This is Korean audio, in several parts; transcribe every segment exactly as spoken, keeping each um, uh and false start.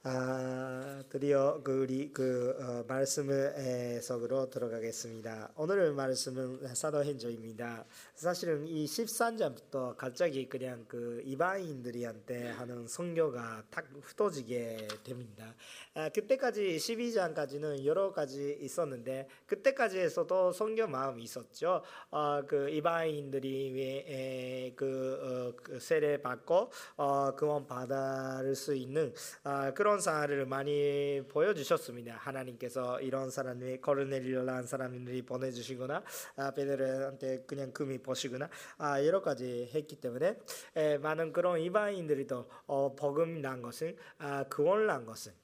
아, 드디어 그 우리 그 어, 말씀을 에, 속으로 들어가겠습니다. 오늘 말씀은 사도행전입니다. 사실은 이 십삼 장부터 갑자기 그냥 그 이방인들이한테 하는 선교가 탁 흩어지게 됩니다. 아, 그때까지 십이 장까지는 여러 가지 있었는데 그때까지 해서도 선교 마음이 있었죠. 어, 그 이방인들이 에, 그, 어, 그 세례 받고 어, 구원 받을 수 있는 아, 그런 사례를 많이 보여주셨습니다. 하나님께서 이런 사람이 코르넬리오라는 사람들이 보내주시거나 아, 베드로한테 그냥 금이 보시거나 아, 여러 가지 했기 때문에 에, 많은 그런 이방인들이 또 어, 복음 난 것은 아, 구원 난 것은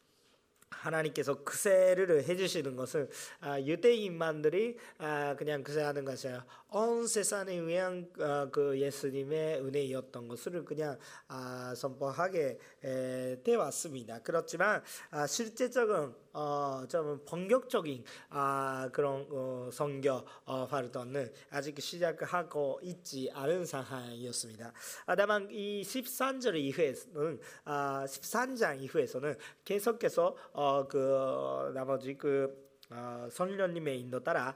하나님께서 그세를 해주시는 것은 아, 유대인만들이 아, 그냥 그세하는 것이 아니라 온 세상에 위한 아, 그 예수님의 은혜였던 것을 그냥 아, 선포하게 에, 되어 왔습니다. 그렇지만 아, 실제적인 어, 좀 본격적인 아, 그런 어, 선교 어, 활동은 아직 시작하고 있지 않은 상황이었습니다. 아, 다만 이 십삼 절 이후에는 아, 십삼 장 이후에서는 계속해서 어, 그 나머지 그 어, 성령님의 인도 따라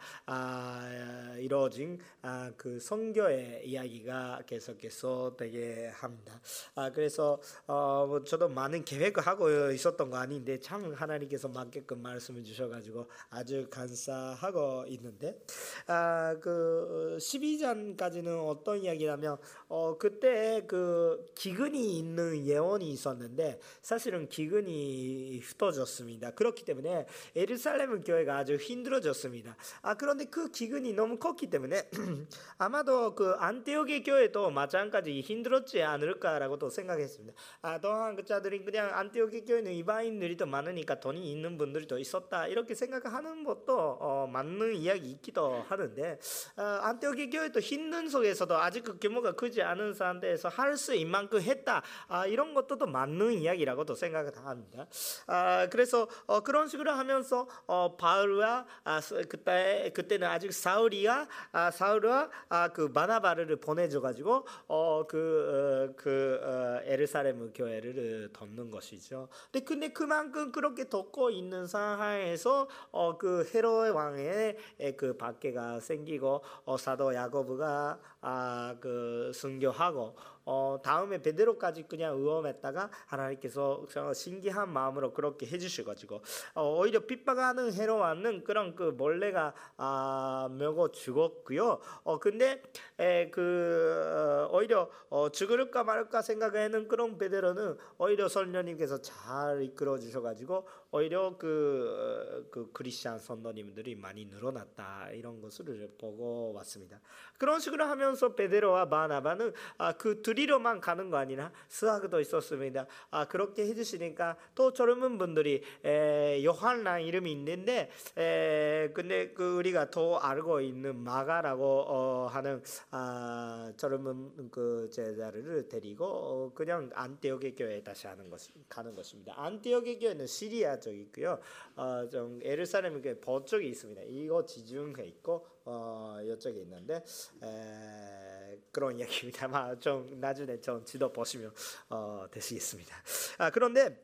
아, 이루어진 아, 그 선교의 이야기가 계속해서 되게 합니다. 아, 그래서 어, 뭐 저도 많은 계획을 하고 있었던 거 아닌데 참 하나님께서 맞게끔 말씀을 주셔가지고 아주 감사하고 있는데 아, 그 십이 장까지는 어떤 이야기냐면 어, 그때 그 기근이 있는 예언이 있었는데 사실은 기근이 흩어졌습니다. 그렇기 때문에 예루살렘 교회가 아주 힘들어졌습니다. 아, 그런데 그 기근이 너무 컸기 때문에 아마도 그 안티오게 교회도 마찬가지 힘들었지 않을까라고도 생각했습니다. 아, 또한 그 자들이 그냥 안티오게 교회는 이방인들이 더 많으니까 돈이 있는 분들이 더 있었다 이렇게 생각하는 것도 어, 맞는 이야기 있기도 하는데 어, 안티오게 교회도 힘든 속에서도 아직 그 규모가 크지 않은 상태에서 할 수 있는 만큼 했다. 아, 이런 것도 또 맞는 이야기라고도 생각을 합니다. 아, 그래서 어, 그런 식으로 하면서 어, 바울과 아, 그때 그때는 아직 사울이가 아, 사울과 아, 그 바나바를 보내줘 가지고 어, 그, 어, 그 어, 에르사렘 교회를 덮는 것이죠. 근데 근데 그만큼 그렇게 덮고 있는 상황에서 어, 그 헤롯 왕의 그 박해가 생기고 어, 사도 야고보가 아, 그 순교하고 어, 다음에 베드로까지 그냥 의험했다가 하나님께서 신기한 마음으로 그렇게 해주셔가지고 어, 오히려 핍박하는 헤롯 왕은 그런 그 몰래가 아, 먹어 죽었고요. 어, 근데 에, 그 어, 오히려 어, 죽을까 말까 생각하는 그런 베드로는 오히려 성령님께서 잘 이끌어 주셔가지고 오히려 그, 그 크리스찬 선도님들이 많이 늘어났다 이런 것을 보고 왔습니다. 그런 식으로 하면서 베드로와 바나바는 아, 그 둘이로만 가는 거 아니라 스하그도 있었습니다. 아, 그렇게 해주시니까 또 젊은 분들이 에, 요한이라는 이름이 있는데 에, 근데 그 우리가 더 알고 있는 마가라고 어, 하는 아, 젊은 그 제자를 데리고 어, 그냥 안티오게 교회에 다시 하는 것 가는 것입니다. 안티오게 교회는 시리아 쪽이 있고요. 어, 좀 예루살렘 교회 북쪽에 있습니다. 이거 지중해 있고 어, 이쪽에 있는데 에, 그런 이야기입니다. 아마 좀 나중에 좀 지도 보시면 어, 되시겠습니다. 아, 그런데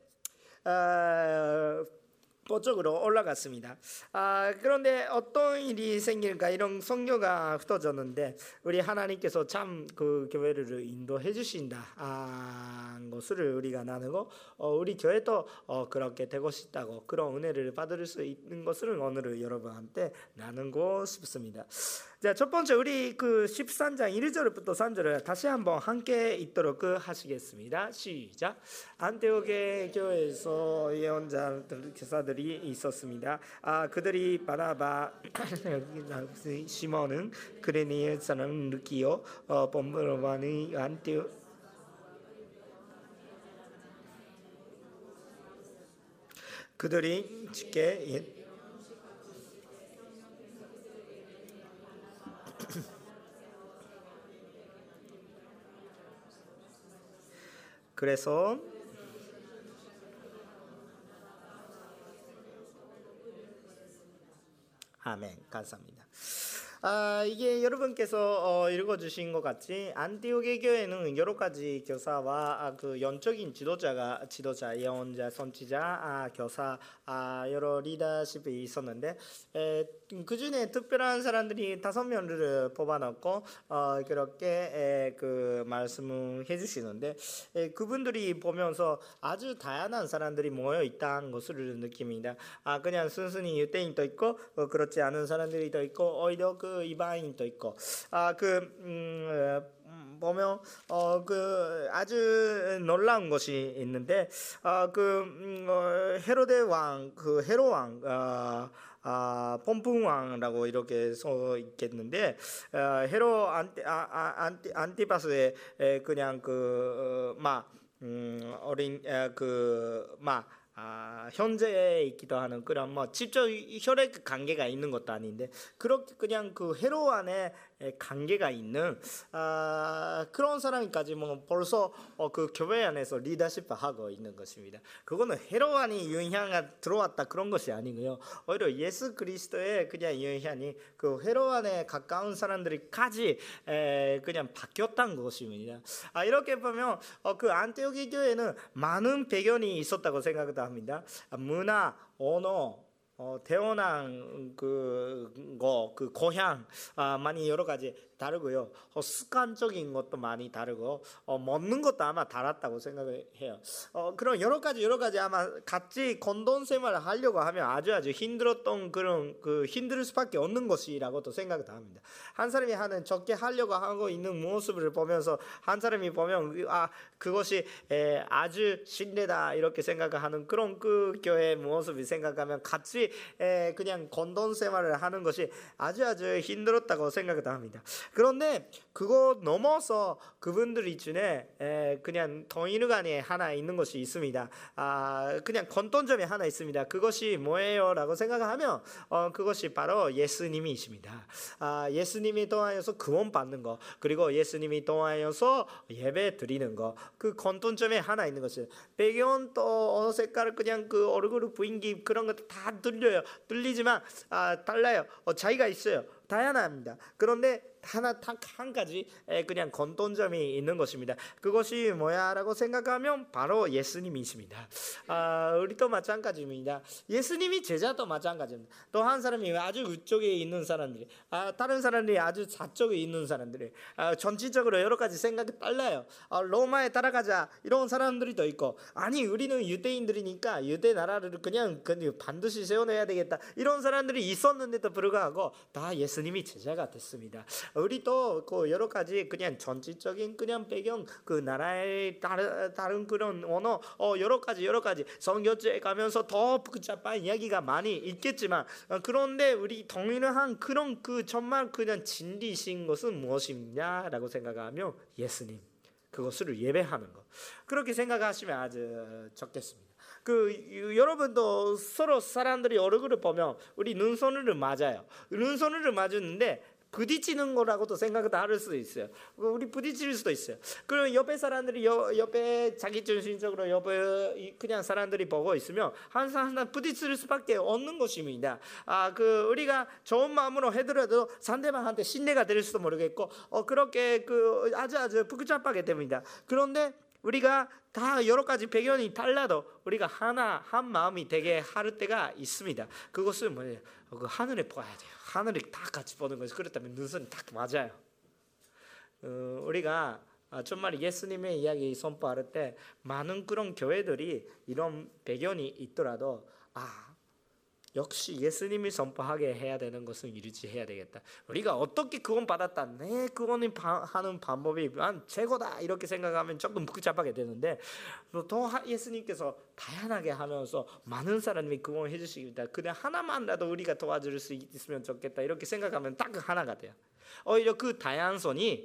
어, 북쪽으로 올라갔습니다. 아, 그런데 어떤 일이 생길까 이런 선교가 흩어졌는데 우리 하나님께서 참 그 교회를 인도해 주신다 아, 것을 우리가 나누고 어, 우리 교회도 어, 그렇게 되고 싶다고 그런 은혜를 받을 수 있는 것을 오늘 여러분한테 나누고 싶습니다. 자, 첫 번째 우리 그 십삼 장 일 절부터 삼 절을 다시 한번 함께 읽도록 하시겠습니다. 시작. 안티오게 교회에서 예언자들 교사들이 있었습니다. 아, 그들이 바나바 시몬은 그레니의 사람 루키오 어, 본브로반의 안티오 그들이 쉽게 그래서 아멘. 감사합니다. 아, 이게 여러분께서 어, 읽어주신 것 같이 안티오게 교회는 여러 가지 교사와 아, 그 영적인 지도자가 지도자, 예언자, 선지자, 아, 교사, 아, 여러 리더십이 있었는데 에, 그 중에 특별한 사람들이 다섯 명을 뽑아놓고 어, 그렇게 에, 그 말씀을 해주시는데 에, 그분들이 보면서 아주 다양한 사람들이 모여 있다는 것을 느낍니다. 아, 그냥 순순히 유대인도 있고 어, 그렇지 않은 사람들이 더 있고 오히려 그 이방인도 있고 아그 음, 보면 어 그 아주 놀라운 것이 있는데 아그 음, 어, 헤로데 왕 그 헤로 왕 아, 아, 폼풍 왕이라고 이렇게 써 있겠는데 어, 헤로 안티 아, 아, 안티 안티파스의 에, 그냥 그막 음, 어린 그막 아, 현재에 있기도 하는 그런 뭐 직접 혈액 관계가 있는 것도 아닌데 그렇게 그냥 그 헤로 안에 관계가 있는 아, 그런 사람까지 뭐 벌써 어, 그 교회 안에서 리더십을 하고 있는 것입니다. 그거는 헤로 안이 영향이 들어왔다 그런 것이 아니고요. 오히려 예수 그리스도의 그냥 영향이 그 헤로 안에 가까운 사람들이까지 에, 그냥 바뀌었다는 것입니다. 아, 이렇게 보면 어, 그 안티오키 교회는 많은 배경이 있었다고 생각합니다. 합니다. 문화, 언어, 어, 태어난 그거, 그 고향 아, 많이 여러 가지 다르고요. 어, 습관적인 것도 많이 다르고 어, 먹는 것도 아마 달랐다고 생각을 해요. 어, 그런 여러 가지 여러 가지 아마 같이 공동 생활을 하려고 하면 아주 아주 힘들었던 그런 그 힘들 수밖에 없는 것이라고도 생각을 합니다. 한 사람이 하는 적게 하려고 하고 있는 모습을 보면서 한 사람이 보면 아 그것이 에, 아주 신뢰다 이렇게 생각하는 그런 그 교회의 모습을 생각하면 같이 에, 그냥 공동 생활을 하는 것이 아주 아주 힘들었다고 생각을 합니다. 그런데 그거 넘어서 그분들 중에 에, 그냥 동일간에 하나 있는 것이 있습니다. 아, 그냥 공통점이 하나 있습니다. 그것이 뭐예요라고 생각하면 어, 그것이 바로 예수님이십니다. 아, 예수님이 통하여서 구원 받는 거 그리고 예수님이 통하여서 예배 드리는 거 그 공통점에 하나 있는 것은 배경 또 어느 색깔 그냥 그 얼굴 부인기 그런 것도 다 들려요. 들리지만 아, 달라요. 어, 차이가 있어요. 다양합니다. 그런데 하나 딱 한 가지 그냥 공통점이 있는 것입니다. 그것이 뭐야라고 생각하면 바로 예수님이십니다. 아, 우리도 마찬가지입니다. 예수님이 제자도 마찬가지입니다. 또 한 사람이 아주 위쪽에 있는 사람들이 아, 다른 사람들이 아주 좌쪽에 있는 사람들이 아, 전체적으로 여러 가지 생각이 달라요. 아, 로마에 따라가자 이런 사람들이 있고 아니 우리는 유대인들이니까 유대 나라를 그냥, 그냥 반드시 세워내야 되겠다 이런 사람들이 있었는데도 불구하고 다 예수님이 제자가 됐습니다. 우리도 그 여러 가지 그냥 전체적인 그냥 배경 그 나라의 다른 다른 그런 언어 어 여러 가지 여러 가지 성교제 가면서 더 복잡한 이야기가 많이 있겠지만 어, 그런데 우리 동일한 그런 그 정말 그냥 진리신 것은 무엇이냐라고 생각하면 예수님 그것을 예배하는 것 그렇게 생각하시면 아주 좋겠습니다. 그 여러분도 서로 사람들이 얼굴을 보면 우리 눈선을 맞아요. 눈선을 맞았는데 부딪히는 거라고도 생각을 할 수도 있어요. 우리 부딪힐 수도 있어요. 그럼 옆에 사람들이 여, 옆에 자기 중심적으로 옆에 그냥 사람들이 보고 있으면 한 사람 하나 부딪힐 수밖에 없는 것입니다. 아, 그 우리가 좋은 마음으로 해더라도 상대방한테 신뢰가 될 수도 모르겠고, 어 그렇게 그 아주 아주 복잡하게 됩니다. 그런데 우리가 다 여러 가지 배경이 달라도 우리가 하나 한 마음이 되게 할 때가 있습니다. 그것은 뭐예요? 그 하늘에 보아야 돼요. 하늘을 다 같이 보는 것이 그렇다면 눈선이 딱 맞아요. 어, 우리가 정말 예수님의 이야기 선포할 때 많은 그런 교회들이 이런 배경이 있더라도 아 역시 예수님이 선포하게 해야 되는 것은 유지해야 되겠다. 우리가 어떻게 구원 받았다, 내 구원을 하는 방법이 최고다 이렇게 생각하면 조금 복잡하게 되는데 또 예수님께서 다양하게 하면서 많은 사람이 구원해 주십니다. 그냥 하나만라도 우리가 도와줄 수 있으면 좋겠다 이렇게 생각하면 딱 하나가 돼요. 오히려 그 다양성이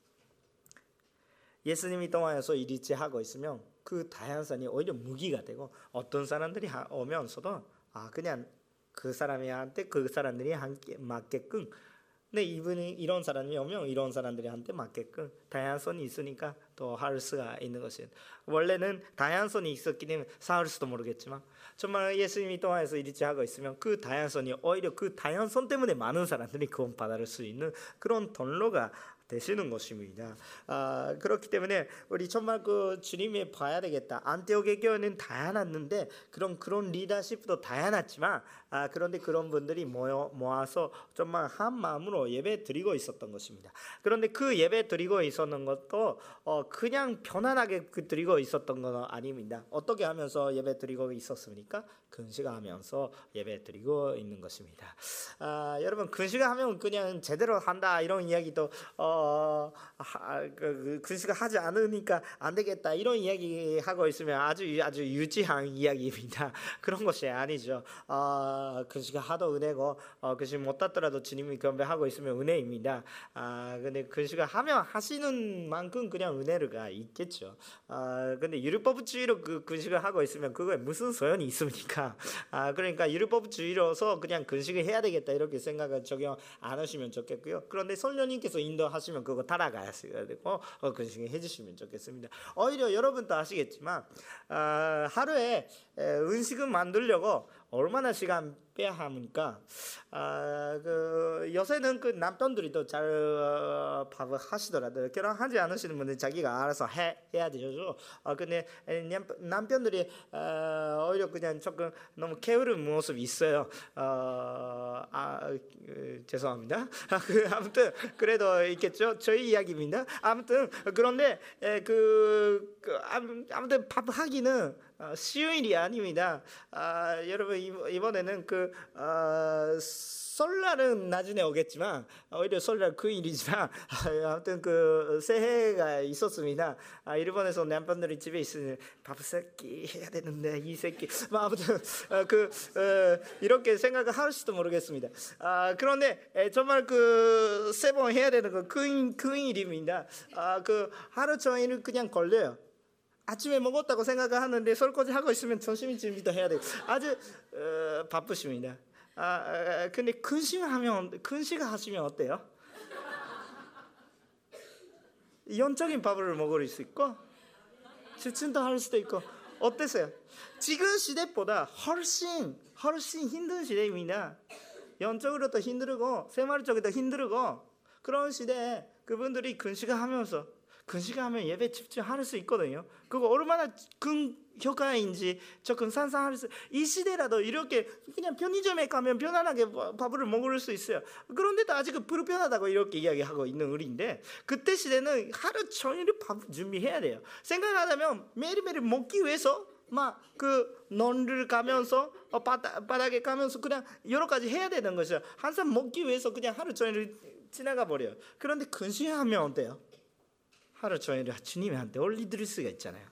예수님이 통하여서 일치하고 있으면 그 다양성이 오히려 무기가 되고 어떤 사람들이 오면서도 아 그냥 그 사람한테 그 사람들이 함께 맞게끔 근데 이분이 이런 사람이 오면 이런 사람들한테 맞게끔 다양성이 있으니까 또 할 수가 있는 것이에요. 원래는 다양성이 있었기 때문에 사할 수도 모르겠지만 정말 예수님이 통해서 일치하고 있으면 그 다양성이 오히려 그 다양성 때문에 많은 사람들이 구원받을 수 있는 그런 통로가 되시는 것입니다. 아, 그렇기 때문에 우리 정말 그 주님이 봐야 되겠다. 안티오게 교회는 다양했는데 그런 그런 리더십도 다양했지만 아, 그런데 그런 분들이 모여 모아서 정말 한 마음으로 예배 드리고 있었던 것입니다. 그런데 그 예배 드리고 있었는 것도 어, 그냥 편안하게 그 드리고 있었던 건 아닙니다. 어떻게 하면서 예배 드리고 있었습니까? 근시가하면서 예배 드리고 있는 것입니다. 아, 여러분 근시가하면 그냥 제대로 한다 이런 이야기도 어, 하, 그, 근시가 하지 않으니까 안 되겠다 이런 이야기 하고 있으면 아주 아주 유치한 이야기입니다. 그런 것이 아니죠. 어, 근시가 하도 은혜고 어, 근시 못하더라도 주님이 경배하고 있으면 은혜입니다. 아, 근데 근시가 하면 하시는 만큼 그냥 은혜가 있겠죠. 아, 근데 율법주의로 그 근시가 하고 있으면 그거에 무슨 소용이 있습니까? 아, 그러니까 율법주의로서 그냥 근식을 해야 되겠다 이렇게 생각을 적용 안 하시면 좋겠고요. 그런데 성령님께서 인도하시면 그거 따라가야 되고 어, 근식을 해주시면 좋겠습니다. 오히려 여러분도 아시겠지만 아, 하루에 에, 음식을 만들려고 얼마나 시간 빼야 합니까? 아, 그 요새는 그 남편들이 더 잘 어, 밥을 하시더라도 결혼하지 않으시는 분들 자기가 알아서 해 해야 되죠. 아, 근데 남편들이 어, 오히려 그냥 조금 너무 게으른 모습이 있어요. 어, 아, 그, 죄송합니다. 아, 그, 아무튼 그래도 있겠죠. 저희 이야기입니다. 아무튼 그런데 에, 그, 그 아무튼 밥 하기는 어, 쉬운 일이 아닙니다. 아, 여러분 이번에는 그 어, 설날은 나중에 오겠지만 오히려 설날 그 일이지만 아무튼 그 새해가 있었습니다. 아, 일본에서 남편들이 집에 있으니 밥 새끼 해야 되는데 이 새끼 뭐 아무튼 어, 그 어, 이렇게 생각을 할지도 모르겠습니다. 아, 그런데 에, 정말 그 세 번 해야 되는 거 큰 큰 일입니다. 아, 그 하루 종일 그냥 걸려요. 아침에 먹었다고 생각을 하는데 설거지 하고 있으면 점심 준비도 해야 되고 아주 어, 바쁘십니다. 아, 아, 근데 근식하면 근식을 하시면 어때요? 영적인 밥을 먹을 수 있고 실천도 할 수도 있고 어땠어요? 지금 시대보다 훨씬 훨씬 힘든 시대입니다. 영적으로도 힘들고 생활적으로도 힘들고 그런 시대에 그분들이 근식을 하면서 근식을 하면 예배 집중할 수 있거든요. 그거 얼마나 큰 효과인지 조금 상상할 수. 이 시대라도 이렇게 그냥 편의점에 가면 편안하게 밥을 먹을 수 있어요. 그런데도 아직은 불편하다고 이렇게 이야기하고 있는 우리인데 그때 시대는 하루 종일 밥 준비해야 돼요. 생각하자면 매일매일 먹기 위해서 막 그 논을 가면서 어, 바닥, 바닥에 가면서 그냥 여러 가지 해야 되는 것이죠. 항상 먹기 위해서 그냥 하루 종일 지나가 버려요. 그런데 근식하면 어때요? 하루 종일 주님한테 올려드릴 수가 있잖아요.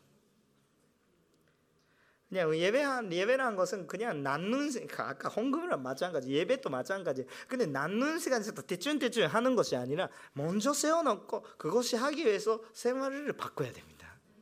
그냥 예배한 예배라는 것은 그냥 낳는 아까 헌금이랑 마찬가지 예배도 마찬가지. 근데 낳는 시간에서 대충 대충 하는 것이 아니라 먼저 세워놓고 그것이 하기 위해서 생활을 바꿔야 됩니다.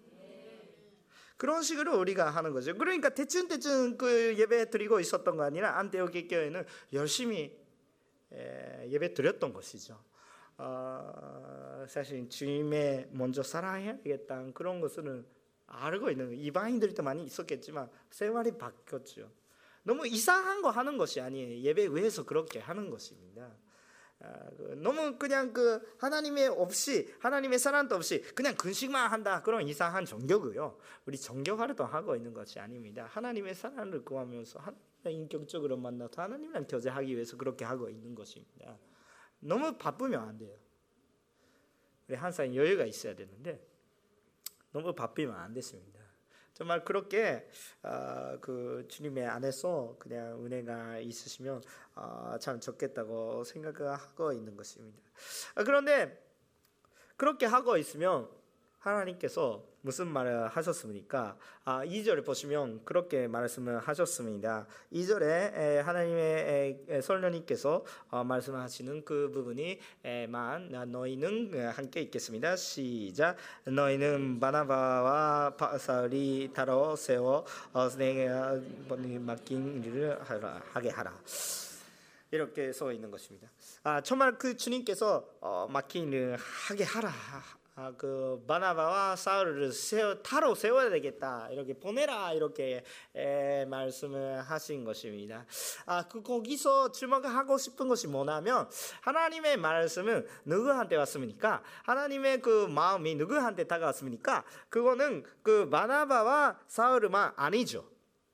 그런 식으로 우리가 하는 거죠. 그러니까 대충 대충 그 예배 드리고 있었던 거 아니라 안티오게 교회는 열심히 예배 드렸던 것이죠. 어, 사실 주님의 먼저 사랑해야 되겠다는 그런 것을 알고 있는 이방인들도 많이 있었겠지만 생활이 바뀌었죠. 너무 이상한 거 하는 것이 아니에요. 예배 위해서 그렇게 하는 것입니다. 아, 그 너무 그냥 그 하나님의 없이 하나님의 사랑도 없이 그냥 근식만 한다 그런 이상한 종교고요. 우리 종교 활동하고 있는 것이 아닙니다. 하나님의 사랑을 구하면서 하나님을 인격적으로 만나서 하나님이랑 교제하기 위해서 그렇게 하고 있는 것입니다. 너무 바쁘면 안 돼요. 우리 항상 여유가 있어야 되는데 너무 바쁘면 안 됐습니다. 정말 그렇게 어, 그 주님의 안에서 그냥 은혜가 있으시면 어, 참 좋겠다고 생각을 하고 있는 것입니다. 아, 그런데 그렇게 하고 있으면 하나님께서 무슨 말을 하셨습니까? 아, 이 절에 보시면 그렇게 말씀을 하셨습니다. 이 절에 하나님의 성령님께서 말씀하시는 그 부분이 만 너희는 함께 읽겠습니다. 시작. 너희는 바나바와 사울이 따로 세워 내가 맡긴 일을 하게 하라. 이렇게 써 있는 것입니다. 아, 정말 그 주님께서 어, 맡긴 일을 하게 하라. 아, 그 바나바와 사울을 세워, 타로 세워야 되겠다. 이렇게 보내라. 이렇게 에, 말씀을 하신 것입니다. 아, 그 거기서 주목하고 싶은 것이 뭐냐면 하나님의 말씀은 누구한테 왔습니까? 하나님의 그 마음이 누구한테 다가왔습니까? 그거는 그 바나바와 사울만 아니죠.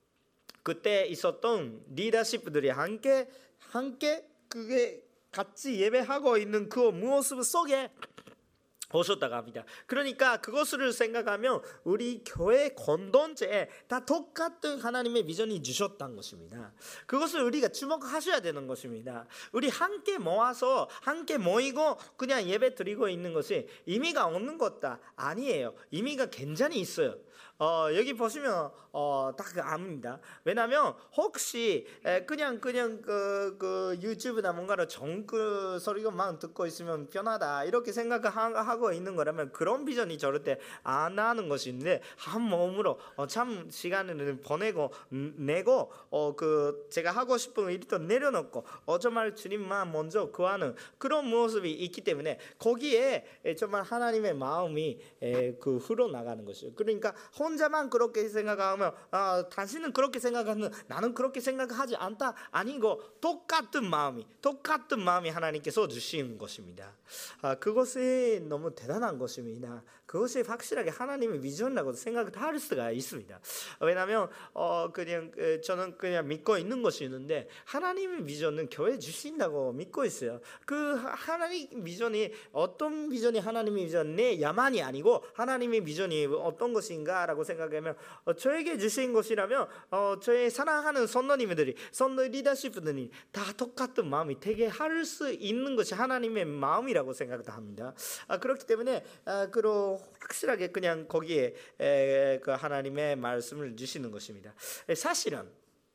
그때 있었던 리더십들이 함께 함께 그게 같이 예배하고 있는 그 모습 속에 오셨다고 합니다. 그러니까 그것을 생각하면 우리 교회 공동체에 다 똑같은 하나님의 비전이 주셨다는 것입니다. 그것을 우리가 주목하셔야 되는 것입니다. 우리 함께 모아서 함께 모이고 그냥 예배 드리고 있는 것이 의미가 없는 것다 아니에요. 의미가 굉장히 있어요. 어, 여기 보시면 어, 딱 압니다. 왜냐하면 혹시 에, 그냥 그냥 그, 그 유튜브나 뭔가로 정글 소리만 듣고 있으면 편하다 이렇게 생각하고 있는 거라면 그런 비전이 절대 안 하는 것인데 한 몸으로 어, 참 시간을 보내고 내고 어, 그 제가 하고 싶은 일도 내려놓고 어, 정말 주님만 먼저 구하는 그런 모습이 있기 때문에 거기에 정말 하나님의 마음이 에, 그 흘러나가는 것이죠. 그러니까 혼자만 그렇게 생각하면 아, 당신은 그렇게 생각하는 나는 그렇게 생각하지 않다 아니고 똑같은 마음이 똑같은 마음이 하나님께서 주신 것입니다. 아, 그것이 너무 대단한 것입니다. 그것이 확실하게 하나님의 비전이라고 생각할 수가 있습니다. 왜냐하면 어, 그냥 저는 그냥 믿고 있는 것이 있는데 하나님의 비전은 교회 주신다고 믿고 있어요. 그 하나님 비전이 어떤 비전이 하나님의 비전 내 야만이 아니고 하나님의 비전이 어떤 것인가라고 생각하면 어, 저에게 주신 것이라면 어, 저의 사랑하는 선노님들이 선노 리더십들이 다 똑같은 마음이 되게 할 수 있는 것이 하나님의 마음이라고 생각합니다. 아, 그렇기 때문에 아, 그로 확실하게 그냥 거기에 에, 그 하나님의 말씀을 주시는 것입니다. 사실은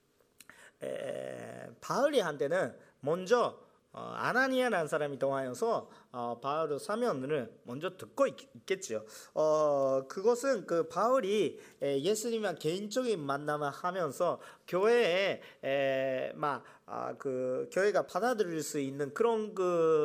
에, 바울이한테는 먼저 어, 아나니아라는 사람이 통하여서 어, 바울의 사면을 먼저 듣고 있, 있겠죠. 어, 그것은 그 바울이 에, 예수님과 개인적인 만남을 하면서 교회에 에, 막 아, 그 교회가 받아들일 수 있는 그런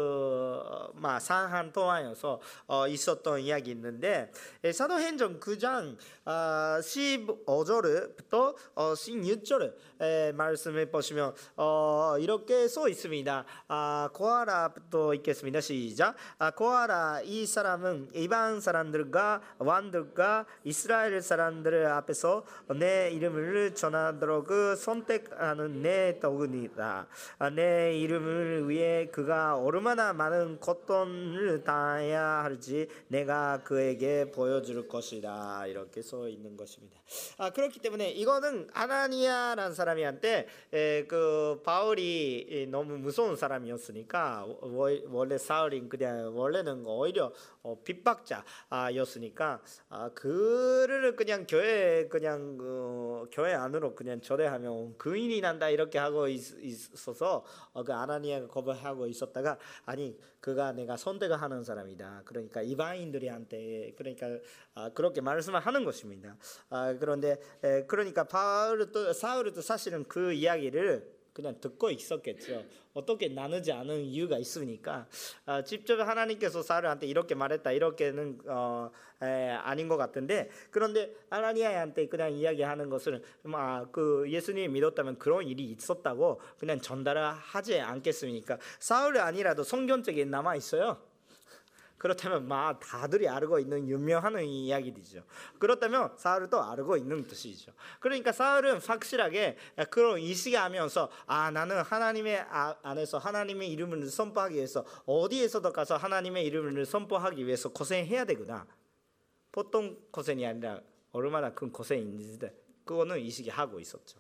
그막 상한 통하여서 어, 있었던 이야기 있는데 에, 사도행전 구 장 아, 십오 절부터 어, 십육 절 말씀을 보시면 어, 이렇게 써 있습니다. 아, 고아라부터 읽겠습니다. 시작. 아, 고아라 이 사람은 이방 사람들과 왕들과 이스라엘 사람들 앞에서 내 이름을 전하도록 선택하는 내 도구니다. 내 이름을 위해 그가 얼마나 많은 고통을 당해야 할지 내가 그에게 보여줄 것이다. 이렇게 써 있는 것입니다. 아, 그렇기 때문에 이거는 아나니아라는 사람한테 그 바울이 너무 무서운 사람이었으니까 원래 사울이 그냥 원래는 오히려 어, 핍박자였으니까 아, 그를 그냥 교회 그냥 어, 교회 안으로 그냥 초대하면 근인이 난다 이렇게 하고 있, 있어서 어, 그 아나니아가 거부하고 있었다가 아니 그가 내가 선택을 하는 사람이다. 그러니까 이방인들한테 그러니까 아, 그렇게 말씀을 하는 것입니다. 아, 그런데 에, 그러니까 바울도 사울도 사실은 그 이야기를 그냥 듣고 있었겠죠. 어떻게 나누지 않은 이유가 있으니까 아, 직접 하나님께서 사울한테 이렇게 말했다 이렇게는 어, 에, 아닌 것 같은데 그런데 아나니아한테 그냥 이야기하는 것은 아, 그 예수님이 믿었다면 그런 일이 있었다고 그냥 전달을 하지 않겠습니까? 사울이 아니라도 성경책에 남아 있어요. 그렇다면 막 다들이 알고 있는 유명한 이야기들이죠. 그렇다면 사울도 알고 있는 뜻이죠. 그러니까 사울은 확실하게 그런 의식하면서 아 나는 하나님의 안에서 하나님의 이름을 선포하기 위해서 어디에서도 가서 하나님의 이름을 선포하기 위해서 고생해야 되구나. 보통 고생이 아니라 얼마나 큰 고생인지 그거는 의식하고 있었죠.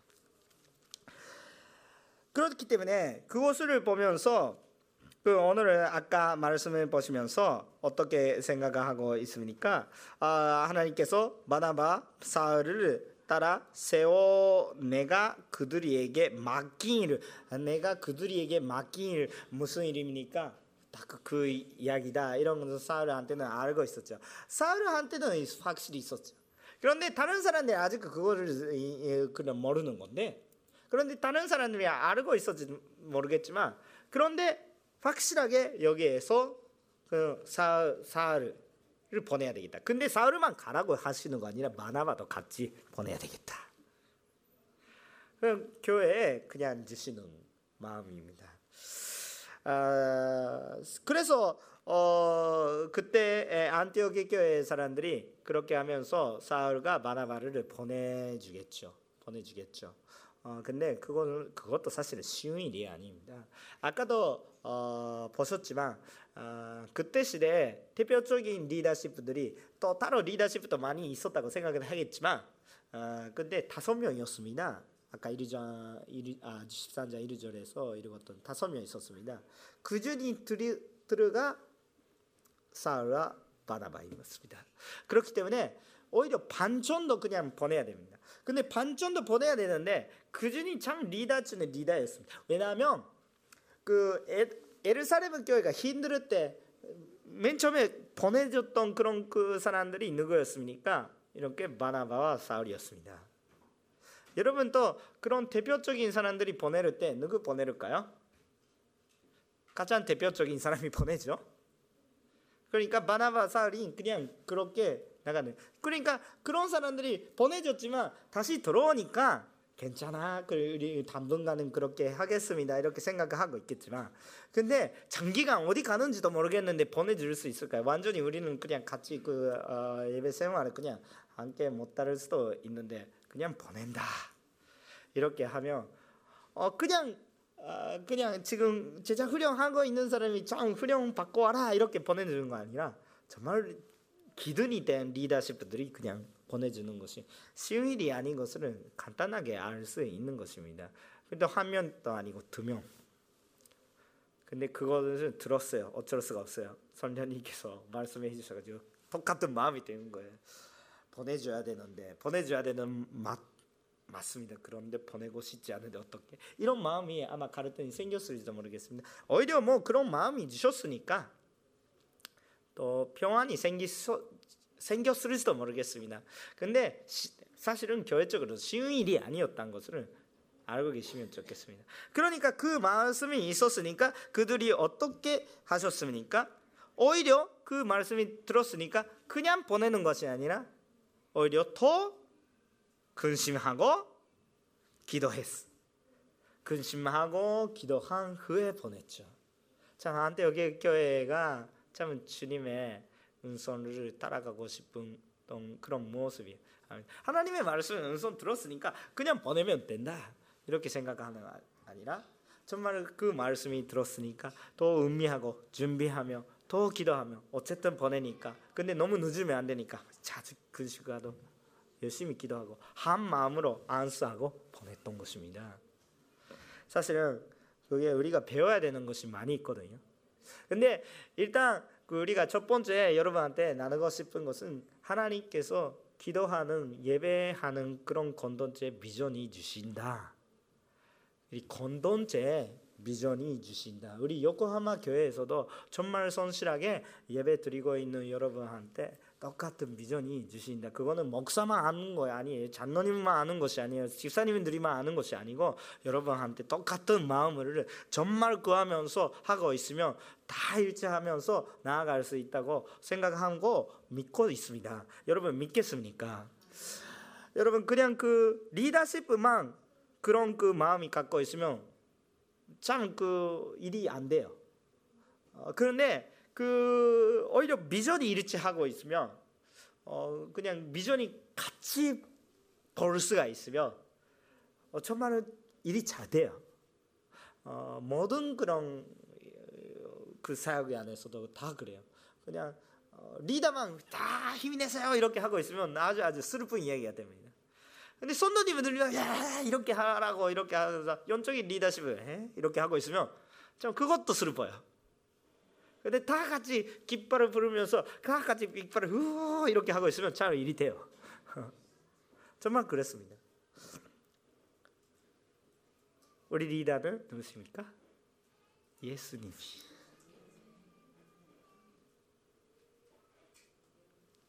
그렇기 때문에 그것을 보면서 그 오늘 아까 말씀을 보시면서 어떻게 생각하고 있습니까? 아, 하나님께서 바나바 사울을 따라 세워 내가 그들에게 맡긴 일, 내가 그들에게 맡긴 일 무슨 일입니까? 딱 그 이야기다. 이런 것을 사울한테는 알고 있었죠. 사울한테는 확실히 있었죠. 그런데 다른 사람들이 아직 그거를 그냥 모르는 건데. 그런데 다른 사람들이 알고 있었지 모르겠지만 그런데 확실하게 여기에서 그 사, 사울을 보내야 되겠다. 근데 사울만 가라고 하시는 거 아니라 바나바도 같이 보내야 되겠다. 그럼 교회에 그냥 주시는 마음입니다. 아, 그래서 어, 그때 안티오키 교회 사람들이 그렇게 하면서 사울과 바나바를 보내주겠죠. 보내주겠죠. 어, 근데 그건 그것도 사실은 쉬운 일이 아닙니다. 아까도 어, 보셨지만 어, 그때 시대에 대표적인 리더십들이 또 따로 리더십도 많이 있었다고 생각을 하겠지만, 어, 근데 다섯 명이었습니다. 아까 일 장, 아, 십삼 장 일 절에서 읽었던 다섯 명 있었습니다. 그 중에 둘가 사울과 바나바였습니다. 그렇기 때문에 오히려 반 정도 그냥 보내야 됩니다. 근데 반 정도 보내야 되는데 그 중에 참 리더 중에 리더였습니다. 왜냐하면 그 예루살렘 교회가 힘들 때 맨 처음에 보내줬던 그런 그 사람들이 누구였습니까? 이렇게 바나바와 사울이었습니다. 여러분 또 그런 대표적인 사람들이 보내를 때 누구 보내릴까요? 가장 대표적인 사람이 보내죠. 그러니까 바나바 사울이 그냥 그렇게 나가는. 그러니까 그런 사람들이 보내줬지만 다시 들어오니까 괜찮아, 우리 당분간은 그렇게 하겠습니다 이렇게 생각하고 있겠지만, 근데 장기간 어디 가는지도 모르겠는데 보내줄 수 있을까요? 완전히 우리는 그냥 같이 그 어, 예배 생활을 그냥 함께 못 따를 수도 있는데 그냥 보낸다 이렇게 하면 어 그냥 어, 그냥 지금 제자 훈련하고 있는 사람이 참 훈련 받고 와라 이렇게 보내주는 거 아니라 정말 기준이 된 리더십들이 그냥 보내주는 것이 쉬운 일이 아닌 것을 간단하게 알 수 있는 것입니다. 근데 한 명도 아니고 두 명. 근데 그것을 들었어요. 어쩔 수가 없어요. 선녀님께서 말씀해 주셔가지고 똑같은 마음이 되는 거예요. 보내줘야 되는데 보내줘야 되는 맛 맞습니다. 그런데 보내고 싶지 않은데 어떻게? 이런 마음이 아마 가르침이 생겼을지도 모르겠습니다. 오히려 뭐 그런 마음이 주셨으니까 또 평안이 생기서 생겼을지도 모르겠습니다. 근데 시, 사실은 교회적으로 쉬운 일이 아니었다는 것을 알고 계시면 좋겠습니다. 그러니까 그 말씀이 있었으니까 그들이 어떻게 하셨습니까? 오히려 그 말씀이 들었으니까 그냥 보내는 것이 아니라 오히려 더 근심하고 기도했어. 근심하고 기도한 후에 보냈죠. 참 안티오키 교회가 참 주님의 은손을 따라가고 싶은 그런 모습이, 하나님의 말씀은 은손 들었으니까 그냥 보내면 된다 이렇게 생각하는 게 아니라 정말 그 말씀이 들었으니까 더 음미하고 준비하며 더 기도하며 어쨌든 보내니까, 근데 너무 늦으면 안 되니까 자주 근심하고 열심히 기도하고 한 마음으로 안수하고 보냈던 것입니다. 사실은 그게 우리가 배워야 되는 것이 많이 있거든요. 근데 일단 우리가 첫 번째 여러분한테 나누고 싶은 것은 하나님께서 기도하는 예배하는 그런 공동체 비전이 주신다. 이 공동체 비전이 주신다. 우리 요코하마 교회에서도 정말 성실하게 예배 드리고 있는 여러분한테 똑같은 비전이 주신다. 그거는 목사만 아는 거 아니에요. 장로님만 아는 것이 아니에요. 집사님들이만 아는 것이 아니고 여러분한테 똑같은 마음을 정말 구하면서 하고 있으면 다 일치하면서 나아갈 수 있다고 생각하고 믿고 있습니다. 여러분 믿겠습니까? 여러분 그냥 그 리더십만 그런 그 마음이 갖고 있으면 참 그 일이 안 돼요. 어, 그런데 그 오히려 비전이 일치하고 있으면 어 그냥 비전이 같이 볼 수가 있으면 어 정말 일이 잘 돼요. 어 모든 그런 그 사역 안에서도 다 그래요. 그냥 어, 리더만 다 힘이 내세요 이렇게 하고 있으면 아주 아주 슬픈 이야기가 됩니다. 근데 선도님들이 야 이렇게 하라고 이렇게 하면서 영적인 리더십을 해? 이렇게 하고 있으면 참 그것도 슬퍼요. 근데 다 같이 깃발을 부르면서 다 같이 깃발을 후 이렇게 하고 있으면 참 일이 돼요. 정말 그랬습니다. 우리 리더는 누구십니까? 예수님.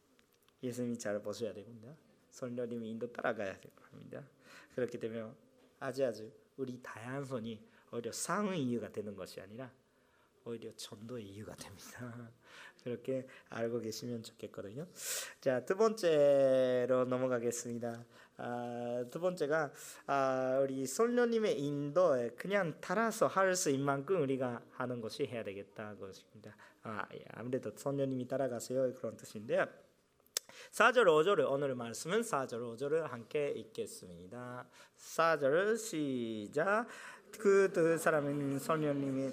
예수님이 잘 보셔야 됩니다. 성령님이 인도 따라가야 됩니다. 그렇기 때문에 아주 아주 우리 다양성이 오히려 상응 이유가 되는 것이 아니라 오히려 전도의 이유가 됩니다. 그렇게 알고 계시면 좋겠거든요. 자, 두 번째로 넘어가겠습니다. 아, 두 번째가 아, 우리 성령님의 인도에 그냥 따라서 할 수 있는 만큼 우리가 하는 것이 해야 되겠다 것입니다. 아, 아무래도 성령님이 따라가세요 그런 뜻인데요. 사 절 오 절을 오늘 말씀은 사 절 오 절을 함께 읽겠습니다. 사 절 시작. 그 두 사람은 성령님이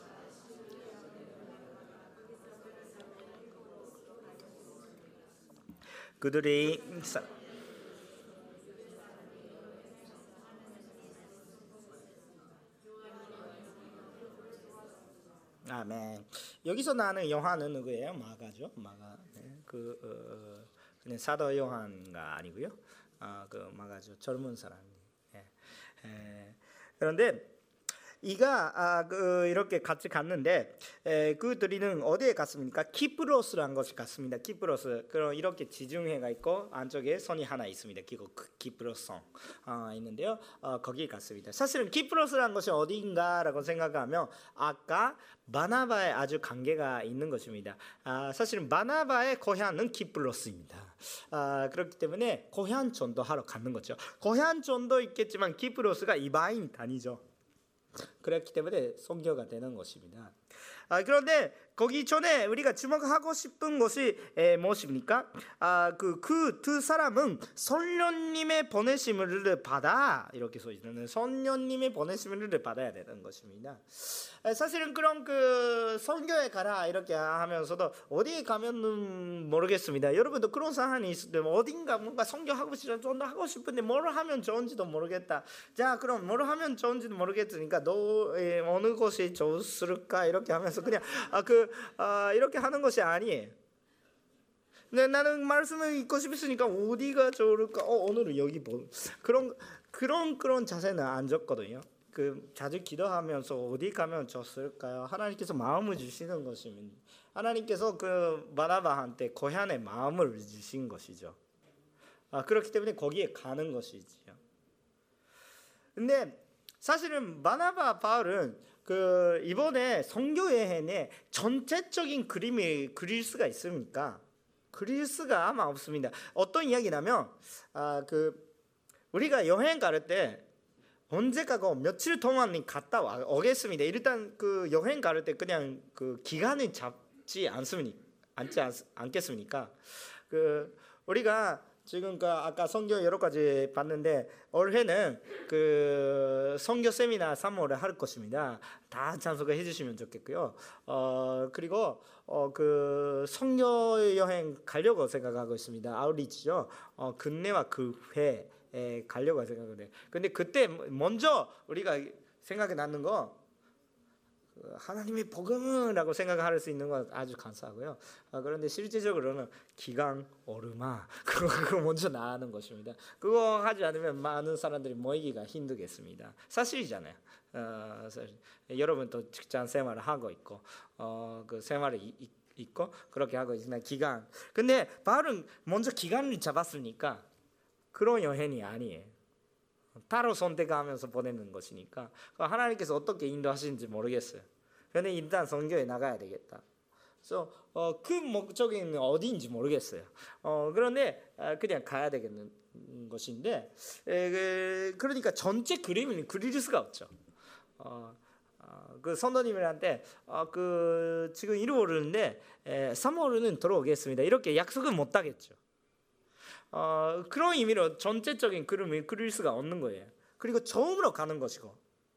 그들이 사, 아멘. 여기서 나는 요한은 누구예요? 마가죠. 마가. 네. 그 어, 그냥 사도 요한가 아니고요. 아, 그 마가죠. 젊은 사람. 예. 예. 그런데 이가 아, 그 이렇게 같이 갔는데 에, 그들이는 어디에 갔습니까? 키프로스라는 것이 갔습니다. 키프로스. 그럼 이렇게 지중해가 있고 안쪽에 선이 하나 있습니다. 그리고 키프로스성 어, 있는데요. 어, 거기에 갔습니다. 사실은 키프로스라는 것이 어디인가라고 생각하면 아까 바나바에 아주 관계가 있는 것입니다. 아, 사실은 바나바의 고향은 키프로스입니다. 아, 그렇기 때문에 고향 전도하러 가는 거죠. 고향 전도 있겠지만 키프로스가 이방인 단위죠. 그렇기 때문에 선교가 되는 것입니다. 아, 그런데 거기 전에 우리가 주목하고 싶은 것이 에, 무엇입니까? 아, 그 그 두 사람은 성령님의 보내심을 받아 이렇게 써 있는 성령님의 보내심을 받아야 되는 것입니다. 에, 사실은 그런 그 선교에 가라 이렇게 하면서도 어디에 가면은 모르겠습니다. 여러분도 그런 상황이 있을 때 어딘가 뭔가 선교하고 싶어 좀 더 하고 싶은데 뭘 하면 좋은지도 모르겠다. 자, 그럼 뭘 하면 좋은지도 모르겠으니까 너 에, 어느 곳이 좋을까 이렇게 하면서 그냥 아, 그 아, 이렇게 하는 것이 아니에요. 근데 나는 말씀을 읽고 싶으니까 어디가 좋을까? 어, 오늘은 여기 뭐 그런 그런 그런 자세는 안 줬거든요. 그 자주 기도하면서 어디 가면 좋을까요? 하나님께서 마음을 주시는 것입니다. 하나님께서 그 바나바한테 고향의 마음을 주신 것이죠. 아, 그렇기 때문에 거기에 가는 것이지요. 근데 사실은 바나바 바울은 그 이번에 선교 여행에 전체적인 그림을 그릴 수가 있습니까? 그릴 수가 아마 없습니다. 어떤 이야기냐면 아, 그 우리가 여행 갈 때 언제 가고 며칠 동안 갔다 와 오겠습니다. 일단 그 여행 갈 때 그냥 그 기간을 잡지 않습니까? 않지 않, 않겠습니까? 그 우리가 지금 그 아까 선교 여러 가지 봤는데 올해는 그 선교 세미나 삼 월에 할 것입니다. 다 참석해 주시면 좋겠고요. 어 그리고 어 그 선교 여행 가려고 생각하고 있습니다. 아웃리치죠. 어 근내와 교회에 가려고 생각하는데 근데 그때 먼저 우리가 생각이 나는 거 하나님의 복음이라고 생각할 수 있는 건 아주 감사하고요. 아, 그런데 실제적으로는 기강 오르마 그거, 그거 먼저 나가는 것입니다. 그거 하지 않으면 많은 사람들이 모이기가 힘들겠습니다. 사실이잖아요. 어, 사실. 여러분도 직장 생활을 하고 있고 어, 그 생활을 이, 이, 있고 그렇게 하고 있으나 기간. 근데 바울은 먼저 기간을 잡았으니까 그런 여행이 아니에요. 따로 선택하면서 보내는 것이니까 하나님께서 어떻게 인도하시는지 모르겠어요. 그런데 일단 선교에 나가야 되겠다. 그래서 어, 그 목적이 어디인지 모르겠어요. 어, 그런데 그냥 가야 되겠는 것인데 에, 그, 그러니까 전체 그림을 그릴 수가 없죠. 어, 어, 그 선도님한테 어, 그 지금 일 월인데 삼 월은 들어오겠습니다. 이렇게 약속은 못 하겠죠. 어, 그런 의미로 전체적인 그림을 그릴 수가 없는 거예요. 그리고 처음으로 가는 것이고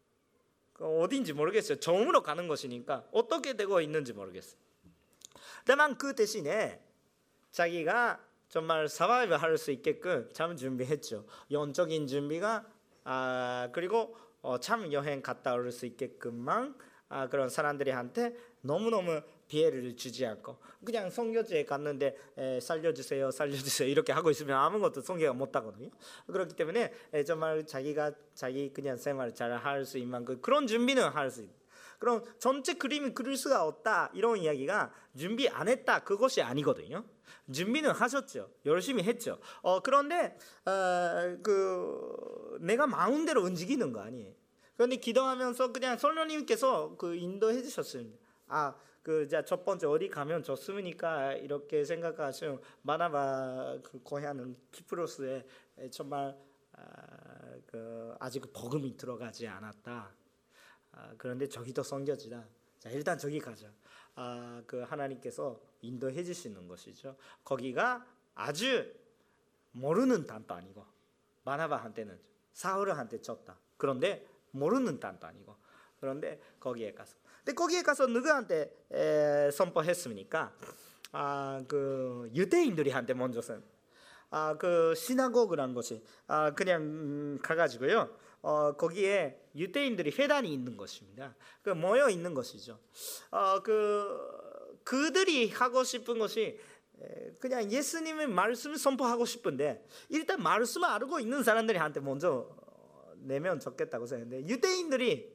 어디인지 모르겠어요. 처음으로 가는 것이니까 어떻게 되고 있는지 모르겠어요. 다만 그 대신에 자기가 정말 서바이브 할 수 있게끔 참 준비했죠. 영적인 준비가 아, 그리고 어, 참 여행 갔다 올 수 있게끔만 아, 그런 사람들한테 너무너무 피해를 주지 않고 그냥 선교지에 갔는데 에, 살려주세요 살려주세요 이렇게 하고 있으면 아무것도 선교가 못하거든요. 그렇기 때문에 에, 정말 자기가 자기 그냥 생활을 잘 할 수 있는 그, 그런 준비는 할 수 있어요. 그럼 전체 그림을 그릴 수가 없다 이런 이야기가 준비 안 했다 그것이 아니거든요. 준비는 하셨죠. 열심히 했죠. 어, 그런데 어, 그 내가 마음대로 움직이는 거 아니에요. 그런데 기도하면서 그냥 성령님께서 그 인도해 주셨습니다. 아, 그 자 첫 번째 어디 가면 좋습니까? 이렇게 생각하시면 바나바 그 고향은 키프로스에 정말 아, 그 아직 복음이 들어가지 않았다. 아, 그런데 저기도 섬겨지다. 자, 일단 저기 가자. 아, 그 하나님께서 인도해 주시는 것이죠. 거기가 아주 모르는 땅도 아니고 바나바한테는 사울한테 쳤다. 그런데 모르는 땅도 아니고 그런데 거기에 가서 근데 거기에 가서 누구한테 에, 선포했습니까? 아, 그 유대인들이한테 먼저 선. 아, 그 시나고그란 것이 아, 그냥 음, 가가지고요. 어, 거기에 유대인들이 회단이 있는 것입니다. 그 모여 있는 것이죠. 어, 그 그들이 하고 싶은 것이 그냥 예수님의 말씀을 선포하고 싶은데 일단 말씀을 알고 있는 사람들한테 먼저 내면 좋겠다고 생각했는데 유대인들이